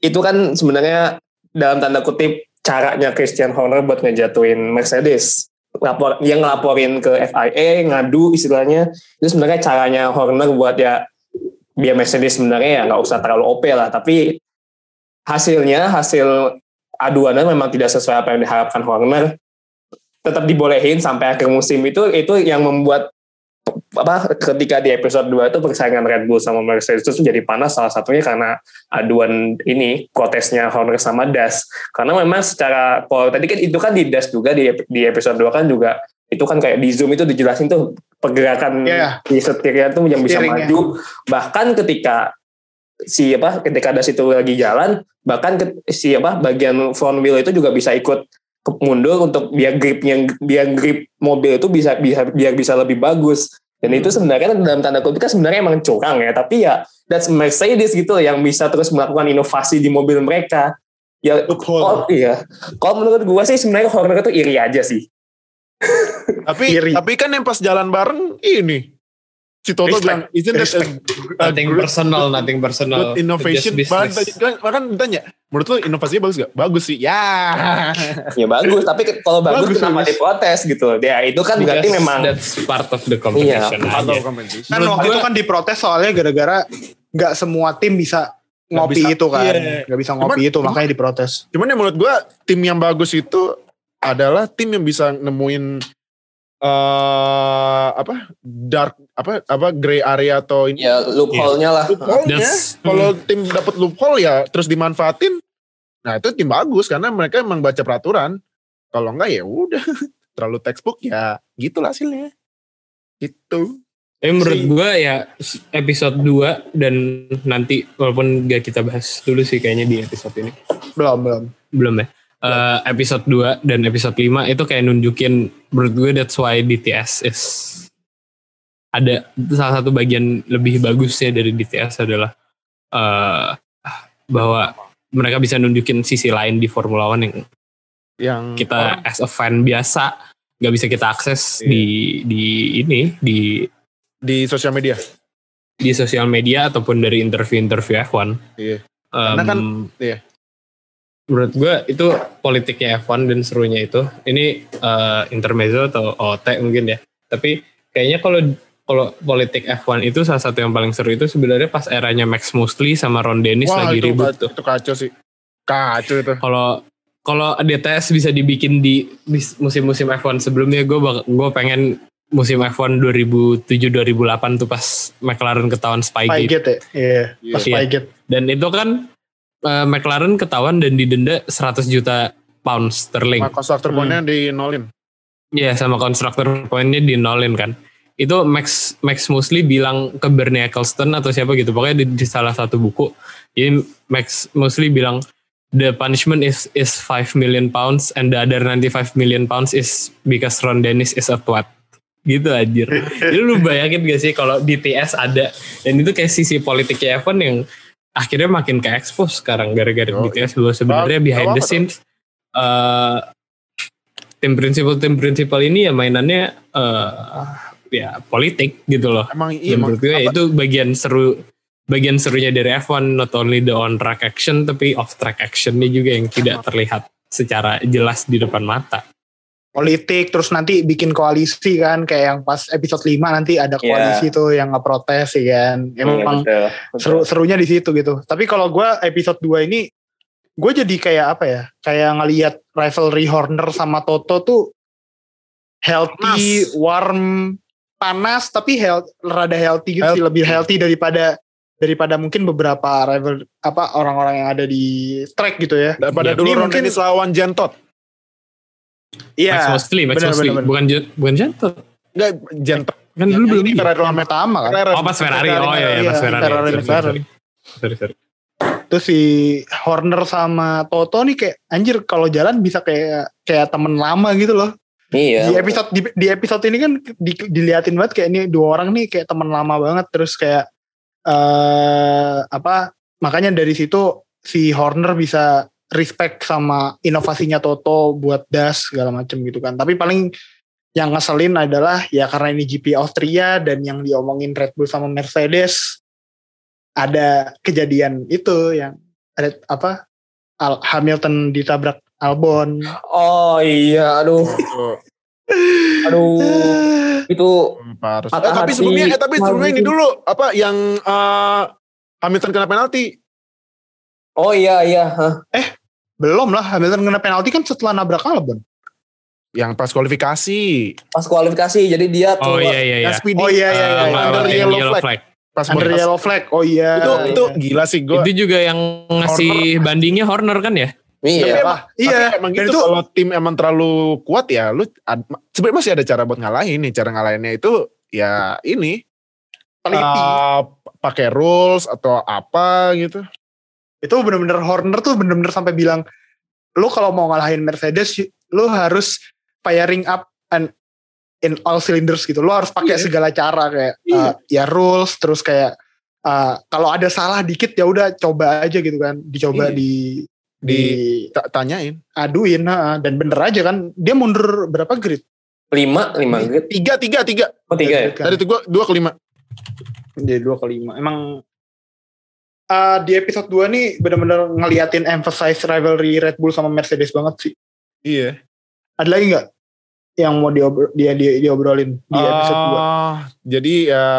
dalam tanda kutip caranya Christian Horner buat ngejatuhin Mercedes. Yang ngelaporin ke FIA, ngadu istilahnya, itu sebenarnya caranya Horner buat ya biar Mercedes sebenarnya ya nggak usah terlalu OP lah, tapi hasil aduannya memang tidak sesuai apa yang diharapkan Horner, tetap dibolehin sampai akhir musim. Itu yang membuat ketika di episode 2 itu persaingan Red Bull sama Mercedes itu jadi panas, salah satunya karena aduan ini, protesnya Horner sama Das. Karena memang secara, kalau tadi kan itu kan di Das juga di episode 2 kan juga itu kan kayak di Zoom itu dijelasin tuh pergerakan di setirnya tuh yang bisa maju. Bahkan ketika Das itu lagi jalan, bahkan bagian front wheel itu juga bisa ikut mundur untuk biar grip mobil itu bisa lebih bagus. Dan itu sebenarnya dalam tanda kutip kan sebenarnya emang curang ya, tapi ya that's Mercedes gitu yang bisa terus melakukan inovasi di mobil mereka. Ya kalau menurut gua sih sebenarnya Horner itu iri aja sih. Tapi kan yang pas jalan bareng ini si Toto bilang isn't that nothing personal good innovation. Bahkan ditanya, menurut lo inovasinya bagus gak? Bagus sih. Ya bagus, tapi kalau bagus kenapa diprotes gitu? Ya itu kan berarti memang that's part of the competition. Kan waktu itu kan diprotes soalnya gara-gara gak semua tim bisa ngopi itu kan. Gak bisa ngopi itu, makanya diprotes. Cuman ya menurut gue tim yang bagus itu adalah tim yang bisa nemuin gray area atau ini loophole-nya lah. Kalau tim dapat loophole ya terus dimanfaatin, nah itu tim bagus karena mereka emang baca peraturan. Kalau enggak ya udah terlalu textbook ya gitulah hasilnya. Gitu. Menurut gue ya episode 2 dan nanti walaupun gak kita bahas dulu sih kayaknya di episode ini. Belum ya. Episode 2 dan episode 5 itu kayak nunjukin, menurut gue that's why DTS is ada salah satu bagian lebih bagusnya dari DTS adalah bahwa mereka bisa nunjukin sisi lain di Formula One yang kita as a fan biasa gak bisa kita akses di sosial media, ataupun dari interview F1. Karena kan menurut gue itu politiknya F1 dan serunya itu. Ini intermezzo atau OT mungkin ya. Tapi kayaknya kalau politik F1 itu salah satu yang paling seru itu sebenarnya pas eranya Max Mosley sama Ron Dennis lagi ribut tuh. Itu kacau sih. Kacau itu. Kalau DTS bisa dibikin di musim-musim F1 sebelumnya, gue pengen musim F1 2007-2008 tuh pas McLaren ketahuan Spygate. Spygate ya? Iya, pas Spygate. Dan itu kan McLaren ketahuan dan didenda 100 juta pound sterling. Sama konstruktor poinnya di nolin. Iya, sama konstruktor poinnya di nolin kan. Itu Max Mosley bilang ke Bernie Ecclestone atau siapa gitu, pokoknya di salah satu buku. Jadi Max Mosley bilang, the punishment is 5 million pounds and the other 95 million pounds is because Ron Dennis is a twat. Gitu anjir. Jadi lu bayangin gak sih kalau DTS ada, dan itu kayak sisi politiknya F1 yang akhirnya makin ke-expose sekarang gara-gara DTS. Lu sebenarnya behind the scenes tim prinsipal ini ya mainannya ya politik gitu loh. Emang iya. Menurut gue itu bagian serunya dari F1, not only the on track action tapi off track actionnya juga yang tidak terlihat secara jelas di depan mata. Politik, terus nanti bikin koalisi kan, kayak yang pas episode 5 nanti ada koalisi tuh yang ngeprotes ya kan. Emang serunya di situ gitu. Tapi kalau gue episode 2 ini, gue jadi kayak apa ya, kayak ngelihat rivalry Horner sama Toto tuh healthy, warm, panas, tapi rada healthy gitu sih, lebih healthy daripada mungkin beberapa rival orang-orang yang ada di track gitu ya. Daripada dulu Ron Dennis lawan Gentot. Iya. Max Mosley. Bukan Gentot. Enggak, Gentot. Kan dulu belum ini Ferrari pertama kan. Pas Ferrari. Pas Ferrari. Sorry. Terus si Horner sama Toto nih kayak anjir kalau jalan bisa kayak temen lama gitu loh. Iya. Di episode ini kan diliatin banget kayak ini dua orang nih kayak temen lama banget, terus kayak makanya dari situ si Horner bisa respect sama inovasinya Toto buat das segala macem gitu kan. Tapi paling yang ngeselin adalah ya karena ini GP Austria dan yang diomongin Red Bull sama Mercedes, ada kejadian itu yang ada Hamilton ditabrak Albon. Oh iya, aduh. Itu tapi sebelumnya ini dulu yang Hamilton kena penalti. Oh iya. Belum lah, Hamilton kena penalti kan setelah nabrak Albon. Yang pas kualifikasi. Jadi dia tuh. Oh iya. Under yellow flag. Pas under yellow flag. Oh iya. Itu gila sih gue. Itu juga yang ngasih bandingnya Horner kan ya? Iya. Tapi emang gitu kalau tim emang terlalu kuat ya, lu sebenarnya masih ada cara buat ngalahin nih. Cara ngalahinnya itu ya ini pakai rules atau apa gitu. Itu bener-bener Horner tuh bener-bener sampai bilang, lu kalau mau ngalahin Mercedes, lu harus firing up and in all cylinders gitu. Lu harus pakai segala cara kayak ya rules, terus kayak kalau ada salah dikit ya udah coba aja gitu kan, dicoba tanyain, aduin, dan bener aja kan. Dia mundur berapa grid? 5 grid. 3. Oh 3 ya? Dari itu 2 ke 5. Jadi 2 ke 5. Emang di episode 2 nih bener-bener ngeliatin emphasize rivalry Red Bull sama Mercedes banget sih. Iya. Ada lagi gak yang mau diobrolin di episode 2? Jadi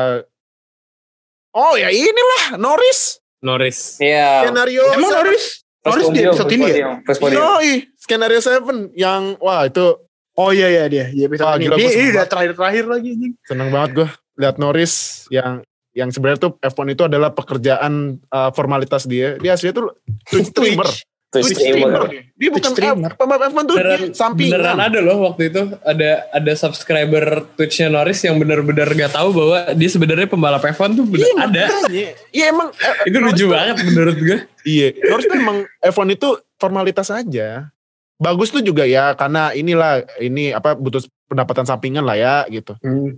ya inilah Norris. Iya. Skenario. Emang Norris di episode ini ya? Skenario 7 yang itu. Oh iya dia di episode ini. Ini udah terakhir lagi anjing. Seneng banget gue lihat Norris yang sebenarnya tuh F1 itu adalah pekerjaan formalitas dia. Dia aslinya tuh Twitch streamer. Dia bukan pembalap F1 tuh sampingan. Beneran ada loh waktu itu ada subscriber Twitch-nya Norris yang bener-bener gak tahu bahwa dia sebenarnya pembalap F1 tuh ada. Iya emang itu lucu banget menurut gue. Iya, Norris tuh emang F1 itu formalitas aja. Bagus tuh juga ya karena ini butuh pendapatan sampingan lah ya gitu.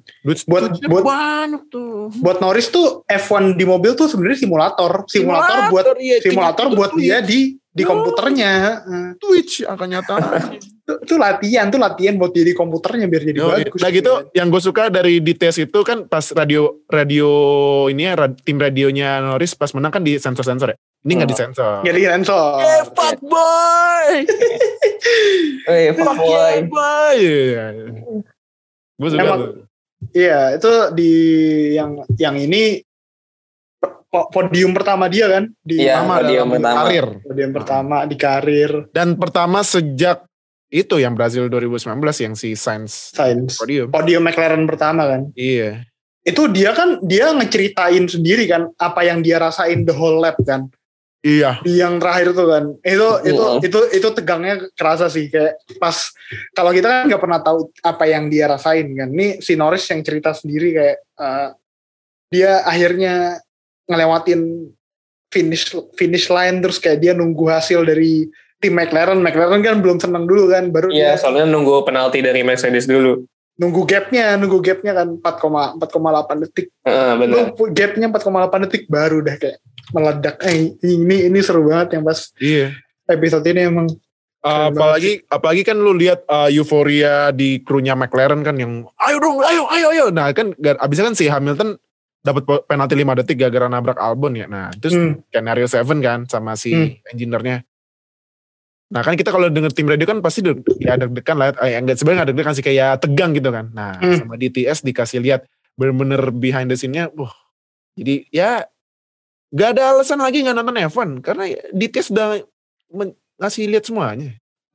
Buat Norris tuh F1 di mobil tuh sebenarnya simulator buat dia di komputernya. Twitch akan nyata. Itu latihan buat dia di komputernya biar jadi bagus. Nah gitu, yang gue suka dari DTS itu kan pas radio ini ya, tim radionya Norris pas menang kan di sensor-sensor ya. Ini nggak disensor. Nggak disensor. Fuck boy. Fuck boy. Gue suka Emang, tuh. Iya, itu di yang ini podium pertama dia kan di Iya, podium dalam pertama. karir. podium pertama di karir Dan pertama sejak itu yang Brazil 2019 yang si Sainz podium. McLaren pertama kan. Iya. Itu dia ngeceritain sendiri kan apa yang dia rasain the whole lap kan. Iya. Di yang terakhir tuh kan. Itu tegangnya kerasa sih kayak pas kalau kita kan nggak pernah tahu apa yang dia rasain kan. Ini si Norris yang cerita sendiri kayak dia akhirnya ngelewatin finish line terus kayak dia nunggu hasil dari tim McLaren kan belum senang dulu kan baru Iya, dia soalnya nunggu penalti dari Mercedes dulu. nunggu gapnya kan 4,8 detik. Benar. Gapnya 4,8 detik baru udah kayak meledak. Ini seru banget yang pas episode ini emang. Apalagi kan lu lihat euforia di krunya McLaren kan yang ayo dong, ayo. Nah kan abisnya kan si Hamilton dapat penalti 5 detik gara-gara nabrak Albon ya. Nah terus skenario 7 kan sama si engineer-nya. Nah kan kita kalau denger tim radio kan pasti ya deg-degan lah. Enggak sebenarnya deg-degan sih kayak tegang gitu kan. Nah sama DTS dikasih lihat bener-bener behind the scene-nya. Jadi ya gak ada alasan lagi gak nonton F1 karena DTS udah ngasih lihat semuanya.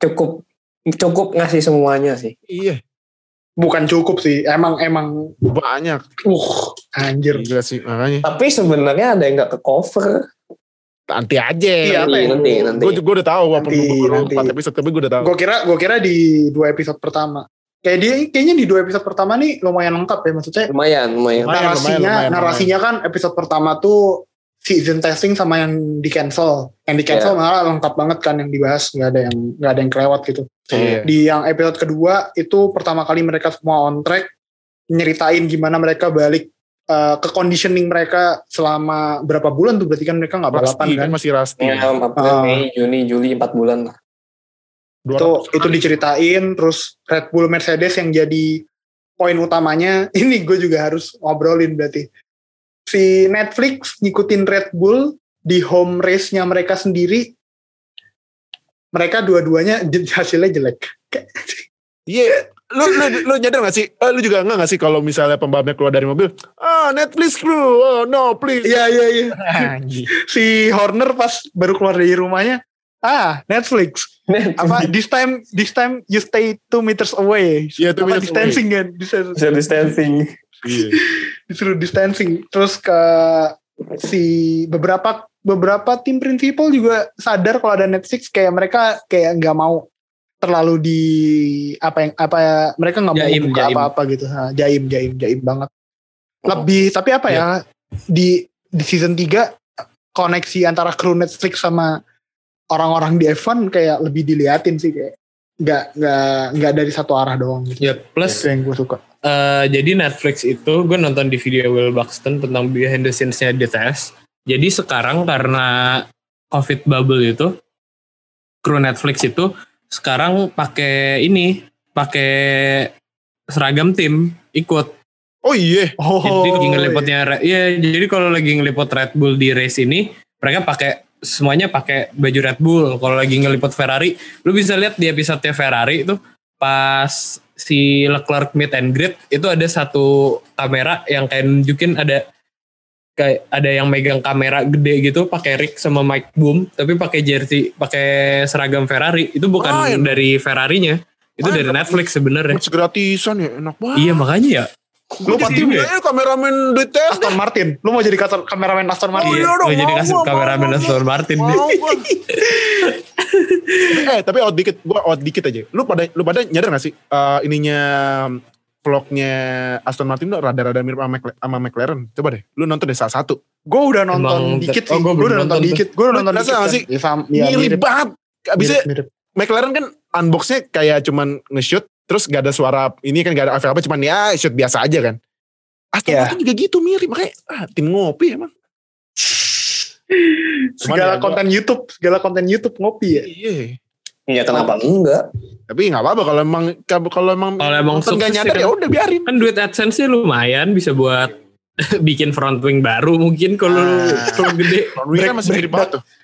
Cukup ngasih semuanya sih. Iya. Bukan cukup sih, emang banyak. Anjir. Gila sih makanya. Tapi sebenarnya ada yang nggak ke cover. Nanti aja. Iya, nanti. Gue juga udah tahu walaupun nanti. 4 episode tapi gue udah tahu. Gue kira di 2 episode pertama. Kayaknya di 2 episode pertama nih lumayan lengkap ya maksudnya. Lumayan. Narasinya kan episode pertama tuh season testing sama yang di cancel. Yang di cancel malah lengkap banget kan yang dibahas, nggak ada yang kelewat gitu. Di yang episode kedua itu pertama kali mereka semua on track nyeritain gimana mereka balik ke conditioning mereka selama berapa bulan tuh berarti kan mereka nggak balapan kan masih rusty. Ya, Mei, Juni, Juli 4 bulan lah. Itu diceritain terus Red Bull Mercedes yang jadi poin utamanya. Ini gue juga harus ngobrolin berarti. Si Netflix ngikutin Red Bull di home race-nya mereka sendiri. Mereka dua-duanya hasilnya jelek. Iya, lu nyadar gak sih? Lu juga enggak sih kalau misalnya pembalapnya keluar dari mobil, Netflix crew, no please. Iya. Si Horner pas baru keluar dari rumahnya, Netflix. Apa this time you stay 2 meters away. Iya, 2 meters distancing away. Kan? Distancing. Iya. Disuruh distancing. Terus ke si beberapa tim principal juga sadar kalau ada Netflix kayak mereka kayak nggak mau terlalu di mereka nggak mau buka apa-apa gitu. Jaim banget. Lebih tapi ya di season 3 koneksi antara kru Netflix sama orang-orang di F1 kayak lebih diliatin sih kayak nggak dari satu arah doang gitu. Ya plus itu yang gue suka. Jadi Netflix itu gue nonton di video Will Buxton tentang behind the scenes-nya di tes. Jadi sekarang karena COVID bubble itu, kru Netflix itu sekarang pakai seragam tim ikut. Oh iya. Jadi lagi ngeliputnya, jadi kalau lagi ngeliput Red Bull di race ini, mereka semuanya pakai baju Red Bull. Kalau lagi ngeliput Ferrari, lu bisa lihat di episode Ferrari itu pas si Leclerc meet and greet itu ada satu kamera yang kayak nunjukin ada yang megang kamera gede gitu pakai rig sama mic boom tapi pakai jersey pakai seragam Ferrari itu bukan dari Ferrarinya itu dari Netflix sebenarnya gratisan ya enak banget. Iya makanya ya lu pasti kameramen di tes Aston Martin lu mau jadi kameramen Aston Martin. Lu jadi kameramen Aston Martin tapi out dikit aja. Lu pada nyadar gak sih ininya vlognya Aston Martin tuh rada-rada mirip sama McLaren. Coba deh, lu nonton deh salah satu. Gue udah nonton dikit sih. Gue udah nonton dikit. Rasa gak sih? Mirip banget. Abisnya McLaren kan unboxnya kayak cuman nge-shoot terus gak ada suara ini kan gak ada apa-apa cuman ya shoot biasa aja kan. Aston Martin juga gitu mirip makanya tim ngopi emang. Segala konten YouTube ngopi ya. Iya. Ya kenapa enggak? Tapi nggak apa-apa kalau emang sukses nggak nyadar ya udah biarin. Kan duit AdSense-nya lumayan bisa buat bikin front wing baru mungkin kalau gede. Front wing kan masih mirip banget tuh.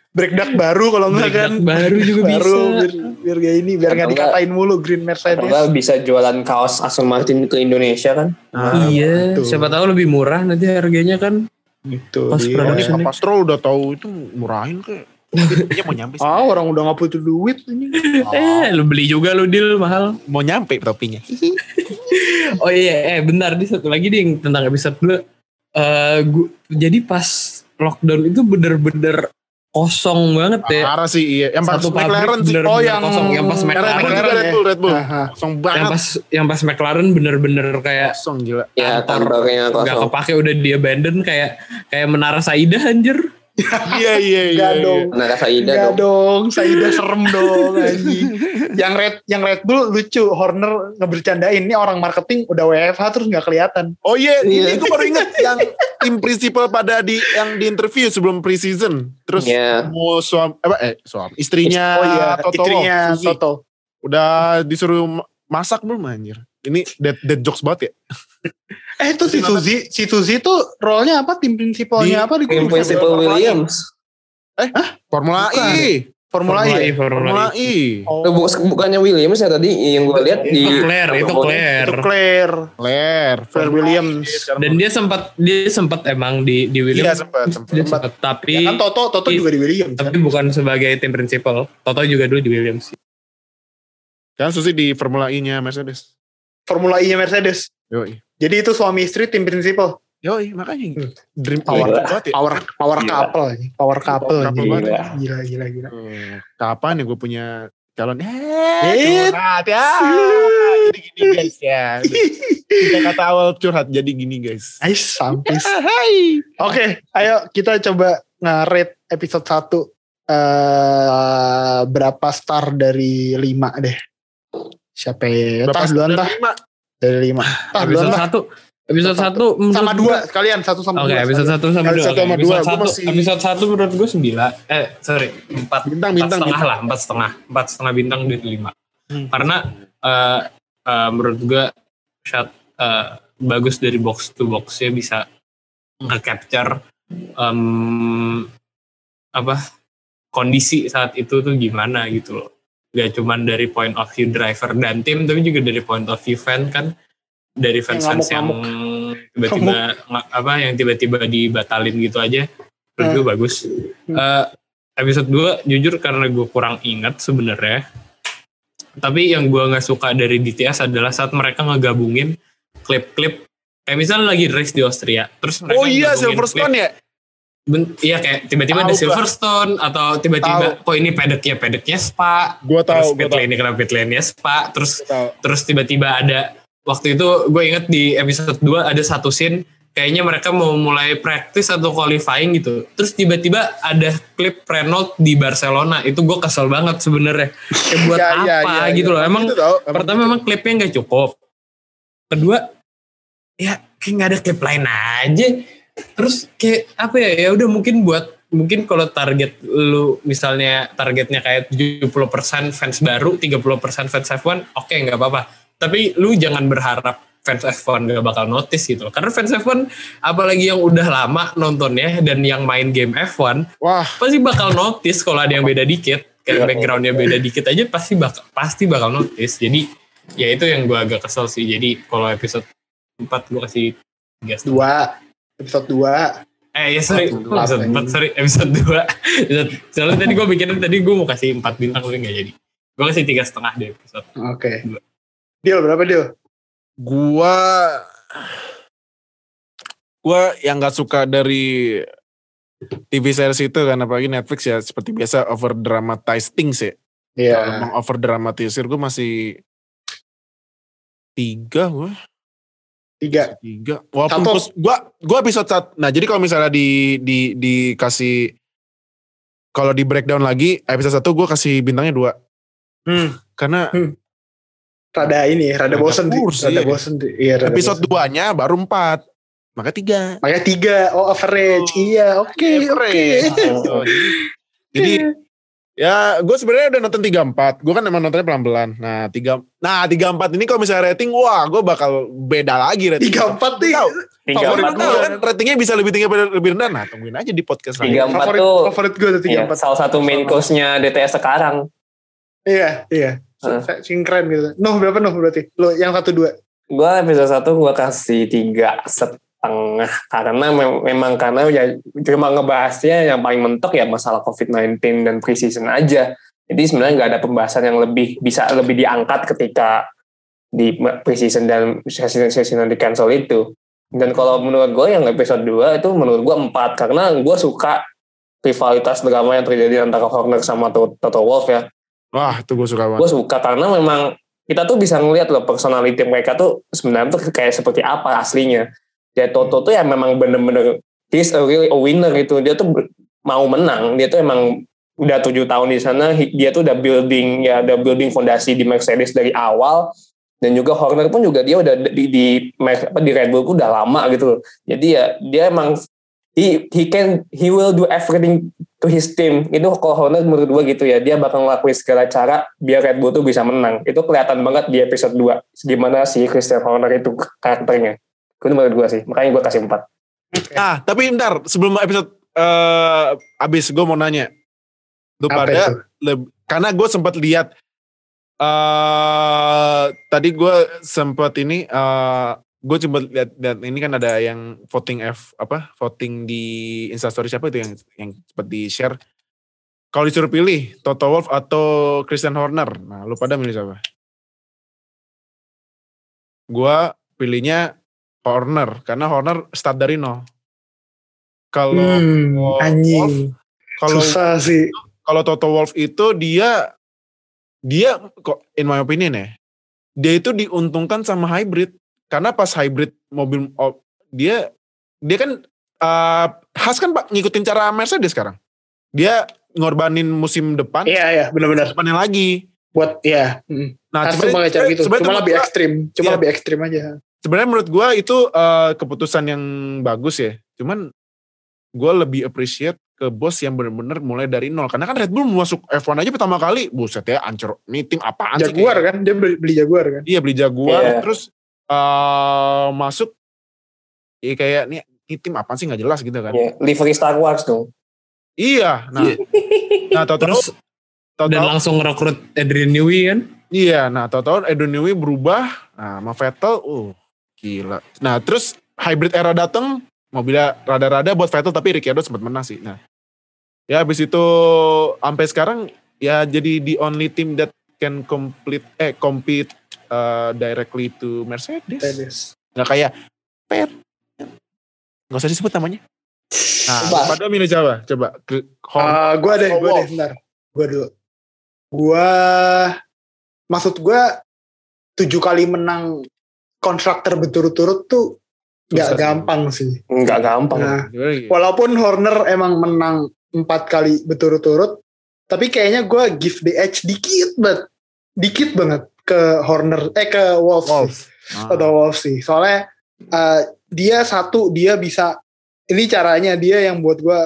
breakdown baru kalau enggak kan. Baru juga Baru bisa. biar gak ini, biar Atau gak dikatain mulu Green Mercedes. Atau bisa jualan kaos Aston Martin ke Indonesia kan. Iya, betul. siapa tahu lebih murah nanti harganya kan. Gitu. Pas dia. production. Ini Capastrol udah tahu itu murahin kayak. Dia mau nyampe sih. Orang udah gak butuh duit ini. Lu beli juga lu deal mahal. Mau nyampe topinya. Oh iya, bentar nih satu lagi nih tentang episode 2. Jadi pas lockdown itu bener-bener kosong banget ya. Parah sih iya. Yang pas Satu pabrik McLaren sih. bener-bener Oh yang kosong. Yang pas McLaren juga Red Bull. Kosong banget. Yang pas McLaren bener-bener kayak Kosong gila. Ya kantor kantornya nggak kosong. kepake, udah di abandon kayak Menara Saida anjir. Iya. Gak dong. Nah, Saida Gak dong. Saida serem dong anjing. Yang Red Bull lucu. Horner ngebercandain. Ini orang marketing udah WFH terus gak kelihatan. Oh iya, ini gue baru inget yang tim principal pada yang di interview sebelum preseason. Terus mau istrinya Oh iya, Toto istrinya Suzy. Toto. Udah disuruh masak belum anjir? Ini dead jokes banget ya. Itu si Suzy tuh role-nya apa? Tim prinsipalnya apa? Tim Principal Williams. Formula Bukan. E. Formula E. Formula E. Oh. Bukannya Williams ya tadi yang gue lihat di Itu Claire Williams. Dan dia sempat emang di Williams. Iya Dia sempat, tapi Ya kan Toto juga di Williams. tapi bukan sebagai tim principal. Toto juga dulu di Williams. Kan Susi di Formula E-nya Mercedes. Formula E-nya Mercedes. Yoi. Jadi itu suami istri tim prinsipal. Yoi, makanya dream Power banget ya. power couple. Power couple. Couple Gila. banget. Gila. Kapan ya gue punya calon? Curhat ya. Jadi gini guys ya. Kita kata awal curhat jadi gini guys. Sampis. Oke, ayo kita coba nge-rate episode 1. Berapa star dari 5 deh. Siapa ya? Tah duluan tah. Dari 5. Tah duluan tah. Episode 1 sama 2 kalian 1 sama 2. Oke, episode 1 sama 2. Episode 1 Episode 1 menurut gue 9. 4 bintang. 4,5 bintang dari 5. Karena menurut gue shot bagus dari box to box ya, bisa nge-capture kondisi saat itu tuh gimana gitu loh. Gak cuman dari point of view driver dan tim, tapi juga dari point of view fan kan. Dari fans yang tiba-tiba dibatalin gitu aja, menurut gue bagus. Episode 2 jujur karena gue kurang ingat sebenarnya, tapi yang gue nggak suka dari DTS adalah saat mereka ngegabungin klip-klip kayak misalnya lagi race di Austria, terus mereka Silverstone ya. Iya kayak tiba-tiba ada Silverstone atau tiba-tiba kok ini pedeknya Spa. Gue tahu. Ini kenapa pit lane-nya Spa, terus tiba-tiba ada. Waktu itu gue inget di episode 2 ada satu scene kayaknya mereka mau mulai practice atau qualifying gitu. Terus tiba-tiba ada klip Renault di Barcelona. Itu gue kesel banget sebenarnya. Kayak buat apa gitu loh. Emang pertama emang klipnya nggak cukup. Kedua ya kayak nggak ada klip lain aja. Terus kayak apa ya udah mungkin kalau target lu misalnya targetnya kayak 70% fans baru, 30% fans F1, oke, nggak apa-apa. Tapi lu jangan berharap fans F1 gak bakal notice gitu loh. Karena fans F1 apalagi yang udah lama nontonnya dan yang main game F1, pasti bakal notice kalau ada yang beda dikit. Kayak backgroundnya beda dikit aja pasti bakal notice. Jadi ya itu yang gue agak kesel sih. Jadi kalau episode 4 gue kasih 3. Episode 2. Episode 2. Soalnya tadi gue mikirin gue mau kasih 4 bintang tapi gak jadi. Gue kasih 3,5 deh episode. Oke. Deal berapa deal? Gua yang gak suka dari TV series itu kan, apalagi Netflix ya, seperti biasa over dramatize things ya. Iya. Kalau emang over dramatisir gue masih 3 gue. 3. Walaupun gue episode 1. Nah jadi kalau misalnya dikasih, kalau di breakdown lagi episode 1 gue kasih bintangnya 2. Karena rada bosen Iya, episode 2-nya baru 4. Maka 3. Makanya 3. Oh, average. Iya, oke. Jadi Ya, gue sebenarnya udah nonton 34. Gue kan emang nontonnya pelan-pelan. Nah, 34 ini kalau misalnya rating, wah, gue bakal beda lagi rating. 34 nih. Favorit gue kan ratingnya bisa lebih tinggi lebih rendah. Nah, tungguin aja di podcast 34 tuh favorit gue tuh 34. Iya, salah satu main course-nya DTS sekarang. Iya. Keren gitu. Berapa berarti? Lo yang 1-2? Gue episode 1 gue kasih 3,5 karena memang karena ya cuma ngebahasnya yang paling mentok ya masalah COVID-19 dan pre-season aja. Jadi sebenarnya nggak ada pembahasan yang bisa lebih diangkat ketika di pre-season dan season di cancel itu. Dan kalau menurut gue yang episode 2 itu menurut gue 4 karena gue suka rivalitas drama yang terjadi antara Horner sama Toto Wolff ya. Wah, itu gue suka banget. Gue suka karena memang kita tuh bisa ngeliat loh personality mereka tuh sebenarnya tuh kayak seperti apa aslinya. Ya Toto tuh ya memang bener-bener he's really a winner gitu. Dia tuh mau menang. Dia tuh emang udah 7 tahun di sana. Dia tuh udah building fondasi di Mercedes dari awal. Dan juga Horner pun juga dia udah di Red Bull udah lama gitu loh. Jadi ya dia emang he will do everything to his team. Itu kalau Horner menurut gue gitu ya. Dia bakal ngelakuin segala cara biar Red Bull tuh bisa menang. Itu kelihatan banget di episode 2. Gimana si Christian Horner itu karakternya. Itu menurut gue sih. Makanya gue kasih 4. Okay. Tapi bentar. Sebelum episode abis gue mau nanya. Lu pada karena gue sempat lihat tadi gue sempat ini gue coba lihat ini kan ada yang voting di Instastory siapa itu yang sempat di share. Kalau disuruh pilih Toto Wolff atau Christian Horner, nah lu pada milih siapa? Gue pilihnya Horner karena Horner start dari nol. Kalau anjing susah sih. Kalau Toto Wolff itu dia kok in my opinion ya, dia itu diuntungkan sama hybrid karena pas hybrid mobil dia kan Haas kan Pak ngikutin cara Mercedes sekarang. Dia ngorbanin musim depan. Iya benar-benar. Depannya lagi buat ya. Nah, Haas cuma cara gitu. Cuma lebih ekstrim. Lebih ekstrim aja. Sebenarnya menurut gue itu keputusan yang bagus ya. Cuman gue lebih appreciate ke bos yang benar-benar mulai dari nol. Karena kan Red Bull masuk F1 aja pertama kali, buset ya, ancur. Ini tim apaan sih? Jaguar kan, dia beli Jaguar kan? Iya beli Jaguar, terus masuk, ya kayak ini tim apaan sih nggak jelas gitu kan? Livery Star Wars dong. Iya, nah terus dan langsung rekrut Adrian Newey kan? Iya, nah tahu-tahu Adrian Newey berubah, nah sama Vettel, gila. Nah terus hybrid era datang. Mobilnya rada-rada buat Vettel tapi Ricciardo sempat menang sih. Nah, ya habis itu sampai sekarang ya jadi the only team that can compete directly to Mercedes. Nggak kayak Pet. Nggak usah disebut namanya. Nah, pada milih siapa? Coba. Gue deh, bentar. Gue dulu. Maksud gue 7 kali menang konstruktor berturut-turut tuh gak gampang sih. Gak gampang. Nah, walaupun Horner emang menang 4 kali berturut-turut, tapi kayaknya gue give the edge dikit banget ke Horner, ke Wolff. Atau Wolff sih. Soalnya dia bisa, ini caranya dia yang buat gue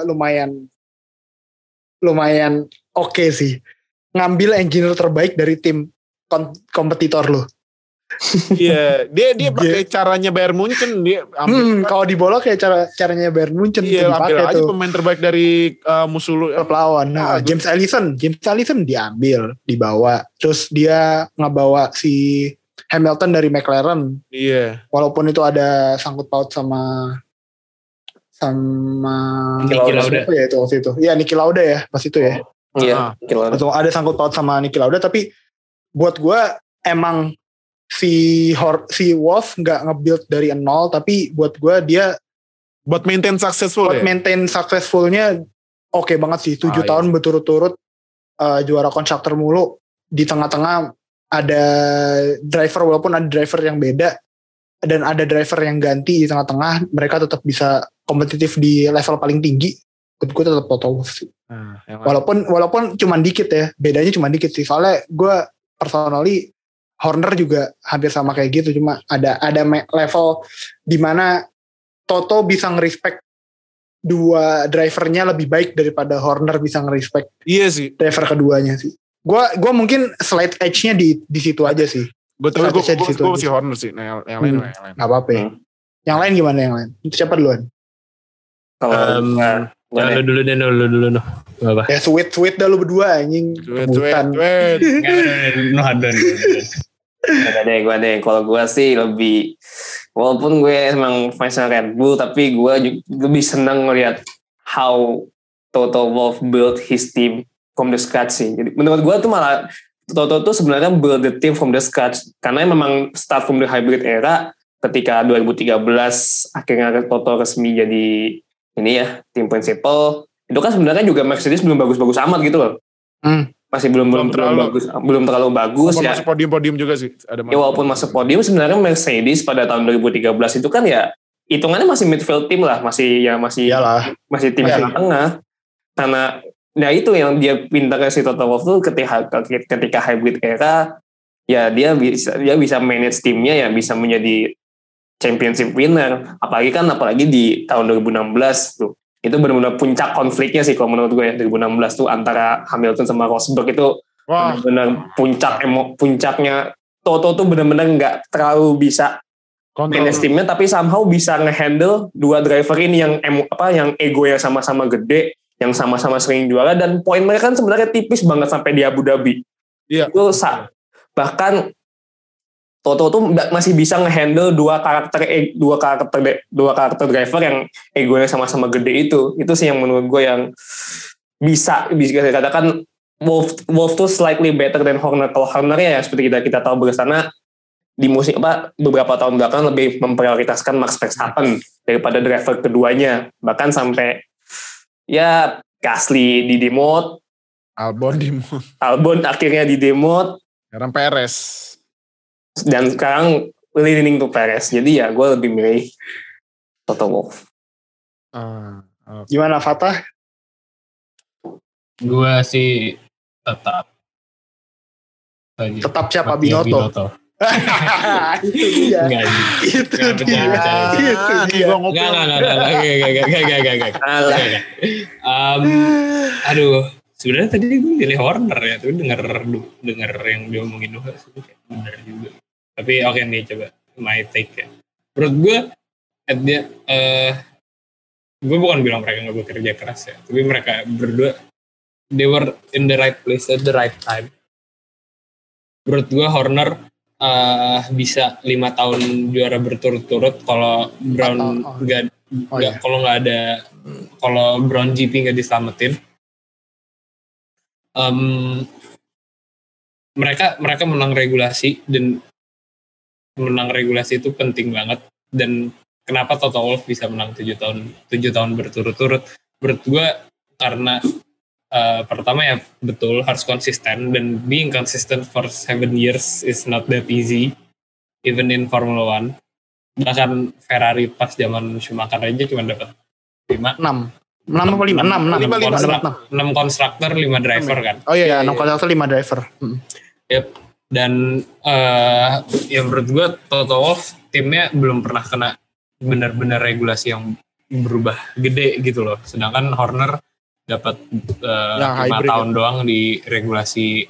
lumayan oke sih. Ngambil engineer terbaik dari tim kompetitor lo. Iya, dia pakai caranya Bayern Munchen dia. Kalau di bola kayak caranya Bayern Munchen. Iya, ambil aja pemain terbaik dari musuh lu. Lawan. Nah, James Allison diambil, dibawa. Terus dia ngebawa si Hamilton dari McLaren. Iya. Walaupun itu ada sangkut paut sama Niki Lauda. Ya itu waktu itu. Iya, Niki Lauda ya, pas itu ya. Iya, Niki Lauda. Ada sangkut paut sama Niki Lauda, tapi buat gue emang si Wolff nggak nge-build dari nol, tapi buat gue dia buat maintain successful maintain successfulnya oke banget sih. 7 tahun berturut-turut juara konstruktor mulu. Di tengah-tengah ada driver, walaupun ada driver yang beda dan ada driver yang ganti di tengah-tengah, mereka tetap bisa kompetitif di level paling tinggi. Buat gue tetap Toto Wolff sih. Walaupun cuman dikit ya, bedanya cuma dikit sih. Soalnya gue personally Horner juga hampir sama kayak gitu, cuma ada level di mana Toto bisa nge-respect dua drivernya lebih baik daripada Horner bisa nge-respect Iya sih. driver keduanya sih. Gua mungkin slide edge-nya di situ aja sih. Gue Strategisnya masih Horner sih. Nah, yang lain. Gak apa-apa ya. Yang lain gimana yang lain? Siapa duluan? Kalau Lu dulu deh. Gak apa. Ya sweet dah lu berdua anjing. Rebutan. Gue deh. Kalau gue sih lebih, walaupun gue emang fans Red Bull, tapi gue lebih senang ngelihat how Toto Wolff build his team from the scratch sih. Jadi menurut gue tuh malah Toto tuh sebenarnya build the team from the scratch, karena memang start from the hybrid era. Ketika 2013 akhirnya Toto resmi jadi ini ya tim principal, itu kan sebenarnya juga Mercedes belum bagus-bagus amat gitu loh. Masih belum terlalu bagus ya. Masuk podium juga sih. Ya walaupun masuk podium, sebenarnya Mercedes pada tahun 2013 itu kan ya hitungannya masih midfield team lah, masih tim tengah. Karena nah itu yang dia pintarnya si Toto Wolff tuh ketika hybrid era ya dia bisa manage timnya, ya bisa menjadi championship winner. Apalagi di tahun 2016 tuh. Itu benar-benar puncak konfliknya sih kalau menurut gue ya, 2016 tuh antara Hamilton sama Rosberg itu benar-benar puncaknya. Toto tuh benar-benar nggak terlalu bisa manage timnya, tapi somehow bisa ngehandle dua driver ini yang ego yang sama-sama gede, yang sama-sama sering juara, dan poin mereka kan sebenarnya tipis banget sampai di Abu Dhabi. Iya. Itu bahkan Toto tuh masih bisa ngehandle dua karakter driver yang egonya sama-sama gede itu. Itu sih yang menurut gue yang bisa dikatakan Wolff tuh slightly better than Horner. Kalau Horner ya seperti kita tahu bersama di beberapa tahun belakangan lebih memprioritaskan Max Verstappen daripada driver keduanya. Bahkan sampai ya Gasly di demote, Albon akhirnya di demote, sekarang Perez. Dan sekarang leaning to Perez. Jadi ya gue lebih milih Toto Wolff. Gimana Fatah? Gue sih tetap siapa? Binotto. Itu dia. Aduh, sebenarnya tadi gue pilih Horner ya, tapi denger yang dia omongin Noah sih kayak benar juga. Tapi oke nih, coba my take ya. Menurut gue, gue bukan bilang mereka nggak bekerja keras ya, tapi mereka berdua they were in the right place at the right time. Menurut gue Horner bisa 5 tahun juara berturut-turut kalau Brown kalau Brown GP nggak diselamatin. Mereka menang regulasi, dan menang regulasi itu penting banget. Dan kenapa Toto Wolff bisa menang 7 tahun berturut-turut? Menurut gue karena pertama ya betul harus konsisten, dan being consistent for 7 years is not that easy even in Formula One. Bahkan Ferrari pas zaman Schumacher aja cuma dapat 6 konstruktor 5 driver kan. Oh iya 6 konstruktor 5 driver. Yep. Dan yang menurut gue Toto Wolff timnya belum pernah kena benar-benar regulasi yang berubah gede gitu loh. Sedangkan Horner dapat 5 tahun doang di regulasi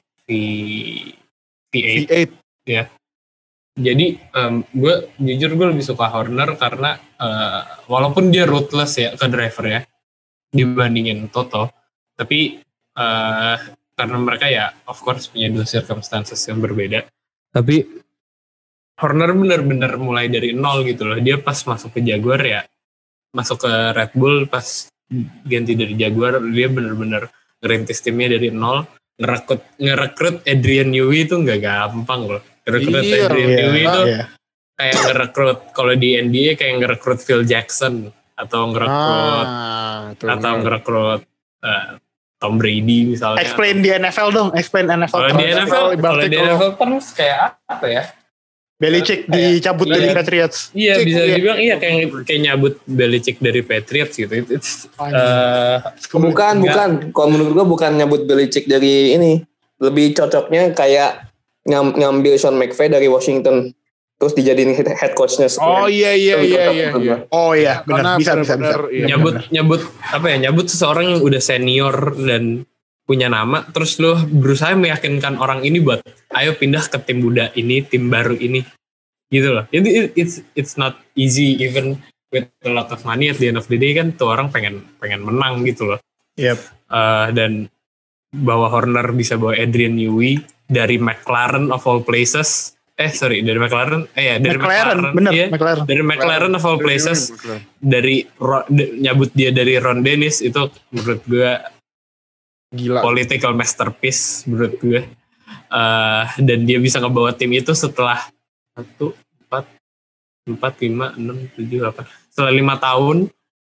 V8 ya. Jadi gue lebih suka Horner karena walaupun dia ruthless ya ke driver ya dibandingin Toto, tapi karena mereka ya of course punya 2 circumstances yang berbeda. Tapi Horner benar-benar mulai dari nol gitu loh. Dia pas masuk ke Jaguar ya, masuk ke Red Bull pas ganti dari Jaguar, dia benar-benar ngerintis timnya dari nol. Ngerekrut Adrian Newey itu nggak gampang loh. Adrian Newey itu kayak ngerekrut, kalau di NBA kayak ngerekrut Phil Jackson atau ngerekrut Tom Brady misalnya. Explain di NFL dong, Kalau di NFL terus kayak apa ya? Belichick dicabut dari Patriots. Iya, bisa dibilang kayak nyabut Belichick dari Patriots gitu. Bukan. Kalau menurut gue bukan nyabut Belichick dari ini. Lebih cocoknya kayak ngambil Sean McVay dari Washington. terus dijadiin head coachnya. Oh iya. Oh iya, benar. Bisa. Iya, nyabut seseorang yang udah senior dan punya nama, terus lo berusaha meyakinkan orang ini buat ayo pindah ke tim muda ini, tim baru ini, gitu loh. Jadi it's not easy even with a lot of money. At the end of the day kan tuh orang pengen menang gitu loh. Yep. Dan bawa Horner bisa bawa Adrian Newey dari McLaren of all places. Dari McLaren. Dari McLaren. Bener, iya. McLaren. Dari McLaren of all places. Nyabut dia dari Ron Dennis itu menurut gue gila. Political masterpiece menurut gue. Dan dia bisa ngebawa tim itu setelah 1, 4, 5, 6, 7, 8. Setelah 5 tahun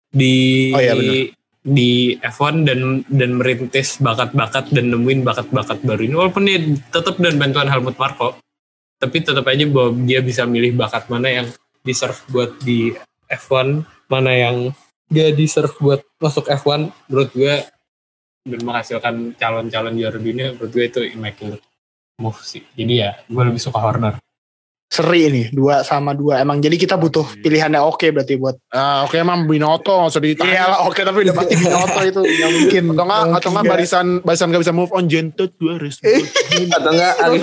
di F1 dan merintis bakat-bakat dan nemuin bakat-bakat baru ini. Walaupun dia tetap dan bantuan Helmut Marko, tapi tetap aja bahwa dia bisa milih bakat mana yang deserve buat di F1, mana yang dia deserve buat masuk F1. Menurut gue dan menghasilkan calon-calon juara dunia, menurut gue itu immaculate move sih. Jadi ya gue lebih suka Horner. Seri ini 2 sama 2. Emang jadi kita butuh pilihannya oke berarti buat. Oke emang Binotto nggak usah ditanya. Iya lah oke, tapi udah pasti Binotto itu nggak mungkin. Atau nggak barisan nggak bisa move on Gentot gue harus. Atau enggak Arif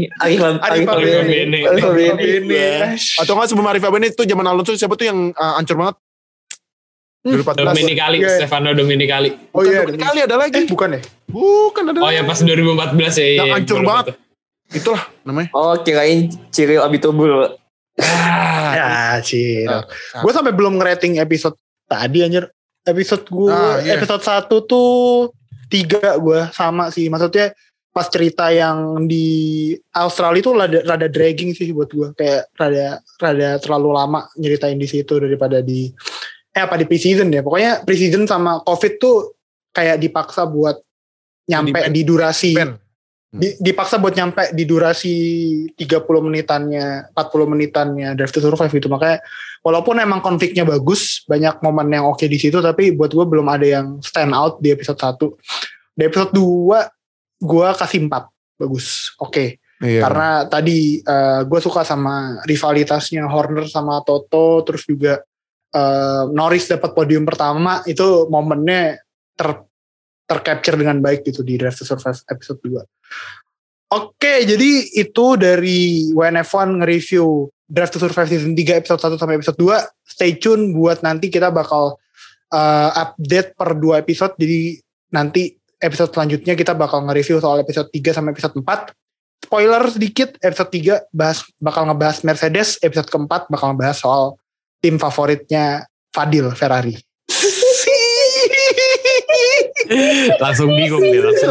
Bene. Atau nggak sebelum Arif Bene itu zaman Alonso siapa tuh yang hancur banget? Dominicali, Stefano Dominicali. Oh iya, Dominicali ada lagi. Bukan ya? Bukan ada. Oh ya pas 2014 ya. Yang hancur banget. Itulah namanya. Oh kirain Cyril Abitbol. Ya Cyril. Gue sampai belum ngerating episode tadi anjir. Episode gue episode 1 tuh 3 gue sama sih. Maksudnya pas cerita yang di Australia itu rada dragging sih buat gue. Kayak rada terlalu lama nyeritain di situ daripada di di pre-season ya. Pokoknya pre-season sama COVID tuh kayak dipaksa buat nyampe di durasi. Dipaksa buat nyampe di durasi 30 menitannya, 40 menitannya Drive to Survive gitu. Makanya walaupun emang konfliknya bagus, banyak momen yang oke di situ, tapi buat gue belum ada yang stand out di episode 1. Di episode 2 gue kasih 4. Bagus. Oke. Iya. Karena tadi gue suka sama rivalitasnya Horner sama Toto, terus juga Norris dapat podium pertama, itu momennya tercapture dengan baik gitu di Drive to Survive episode 2. Oke, jadi itu dari WNF1 nge-review Drive to Survive season 3 episode 1 sampai episode 2. Stay tune buat nanti kita bakal update per 2 episode. Jadi nanti episode selanjutnya kita bakal nge-review soal episode 3 sampai episode 4. Spoiler sedikit, episode 3 bakal ngebahas Mercedes, episode keempat bakal ngebahas soal tim favoritnya Fadil, Ferrari. Langsung bingung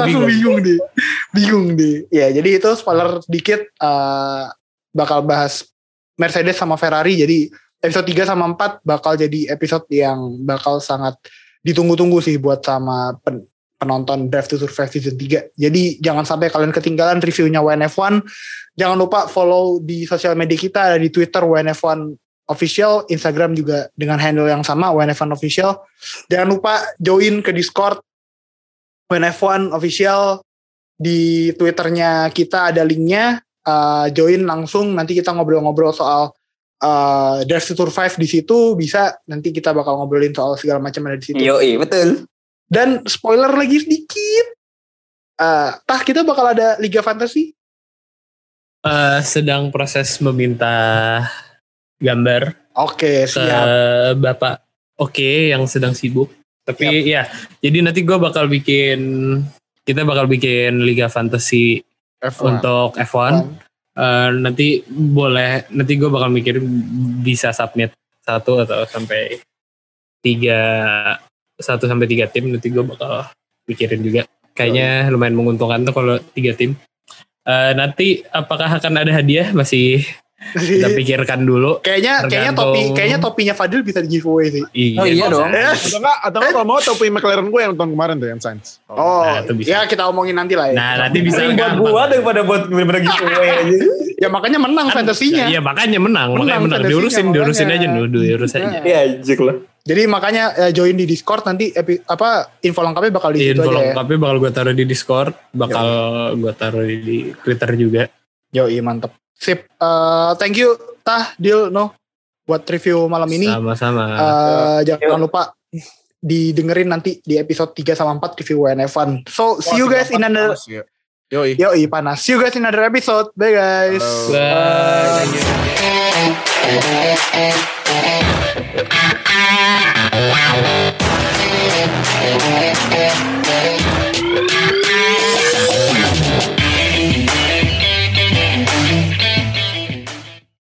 deh. Ya jadi itu spoiler sedikit, bakal bahas Mercedes sama Ferrari. Jadi episode 3 sama 4 bakal jadi episode yang bakal sangat ditunggu-tunggu sih buat sama penonton Drive to Survive season 3. Jadi jangan sampai kalian ketinggalan reviewnya WNF1. Jangan lupa follow di sosial media kita, ada di Twitter WNF1 Official, Instagram juga dengan handle yang sama WNF1 Official. Jangan lupa join ke Discord WNF1 Official. Di Twitternya kita ada linknya, join langsung, nanti kita ngobrol-ngobrol soal Drive to Survive di situ. Bisa nanti kita bakal ngobrolin soal segala macam ada di situ. Yoi, betul. Dan spoiler lagi sedikit, kita bakal ada Liga Fantasy. Sedang proses meminta gambar. Oke, siap. Bapak yang sedang sibuk. Tapi ya, jadi nanti kita bakal bikin Liga Fantasy F1. Untuk F1. Nanti gue bakal mikir bisa submit 1 atau sampai 3 tim, nanti gue bakal pikirin juga. Kayaknya lumayan menguntungkan tuh kalau 3 tim. Nanti apakah akan ada hadiah masih kita pikirkan dulu. Kayaknya topinya Fadil bisa di giveaway sih. Iya dong. Atau enggak kalau mau topi McLaren gue yang tahun kemarin tuh yang Sainz. Ya kita omongin nanti lah ya. Nah, nanti bisa buat gua daripada buat bener-bener giveaway aja. Ya makanya menang fantasinya. Iya, makanya menang. Diurusin aja diurusin aja. Iya, anjir lah. Jadi makanya join di Discord nanti info lengkapnya bakal di situ aja ya. Info lengkapnya bakal gue taruh di Discord, bakal gue taruh di Twitter juga. Yoi, mantep. Sip. Thank you Tah, Dil, No buat review malam ini. Sama-sama. Jangan lupa didengerin nanti di episode 3 sama 4 review WNF1. So, see you guys in another Yoi, panas. See you guys in another episode. Bye guys. Bye.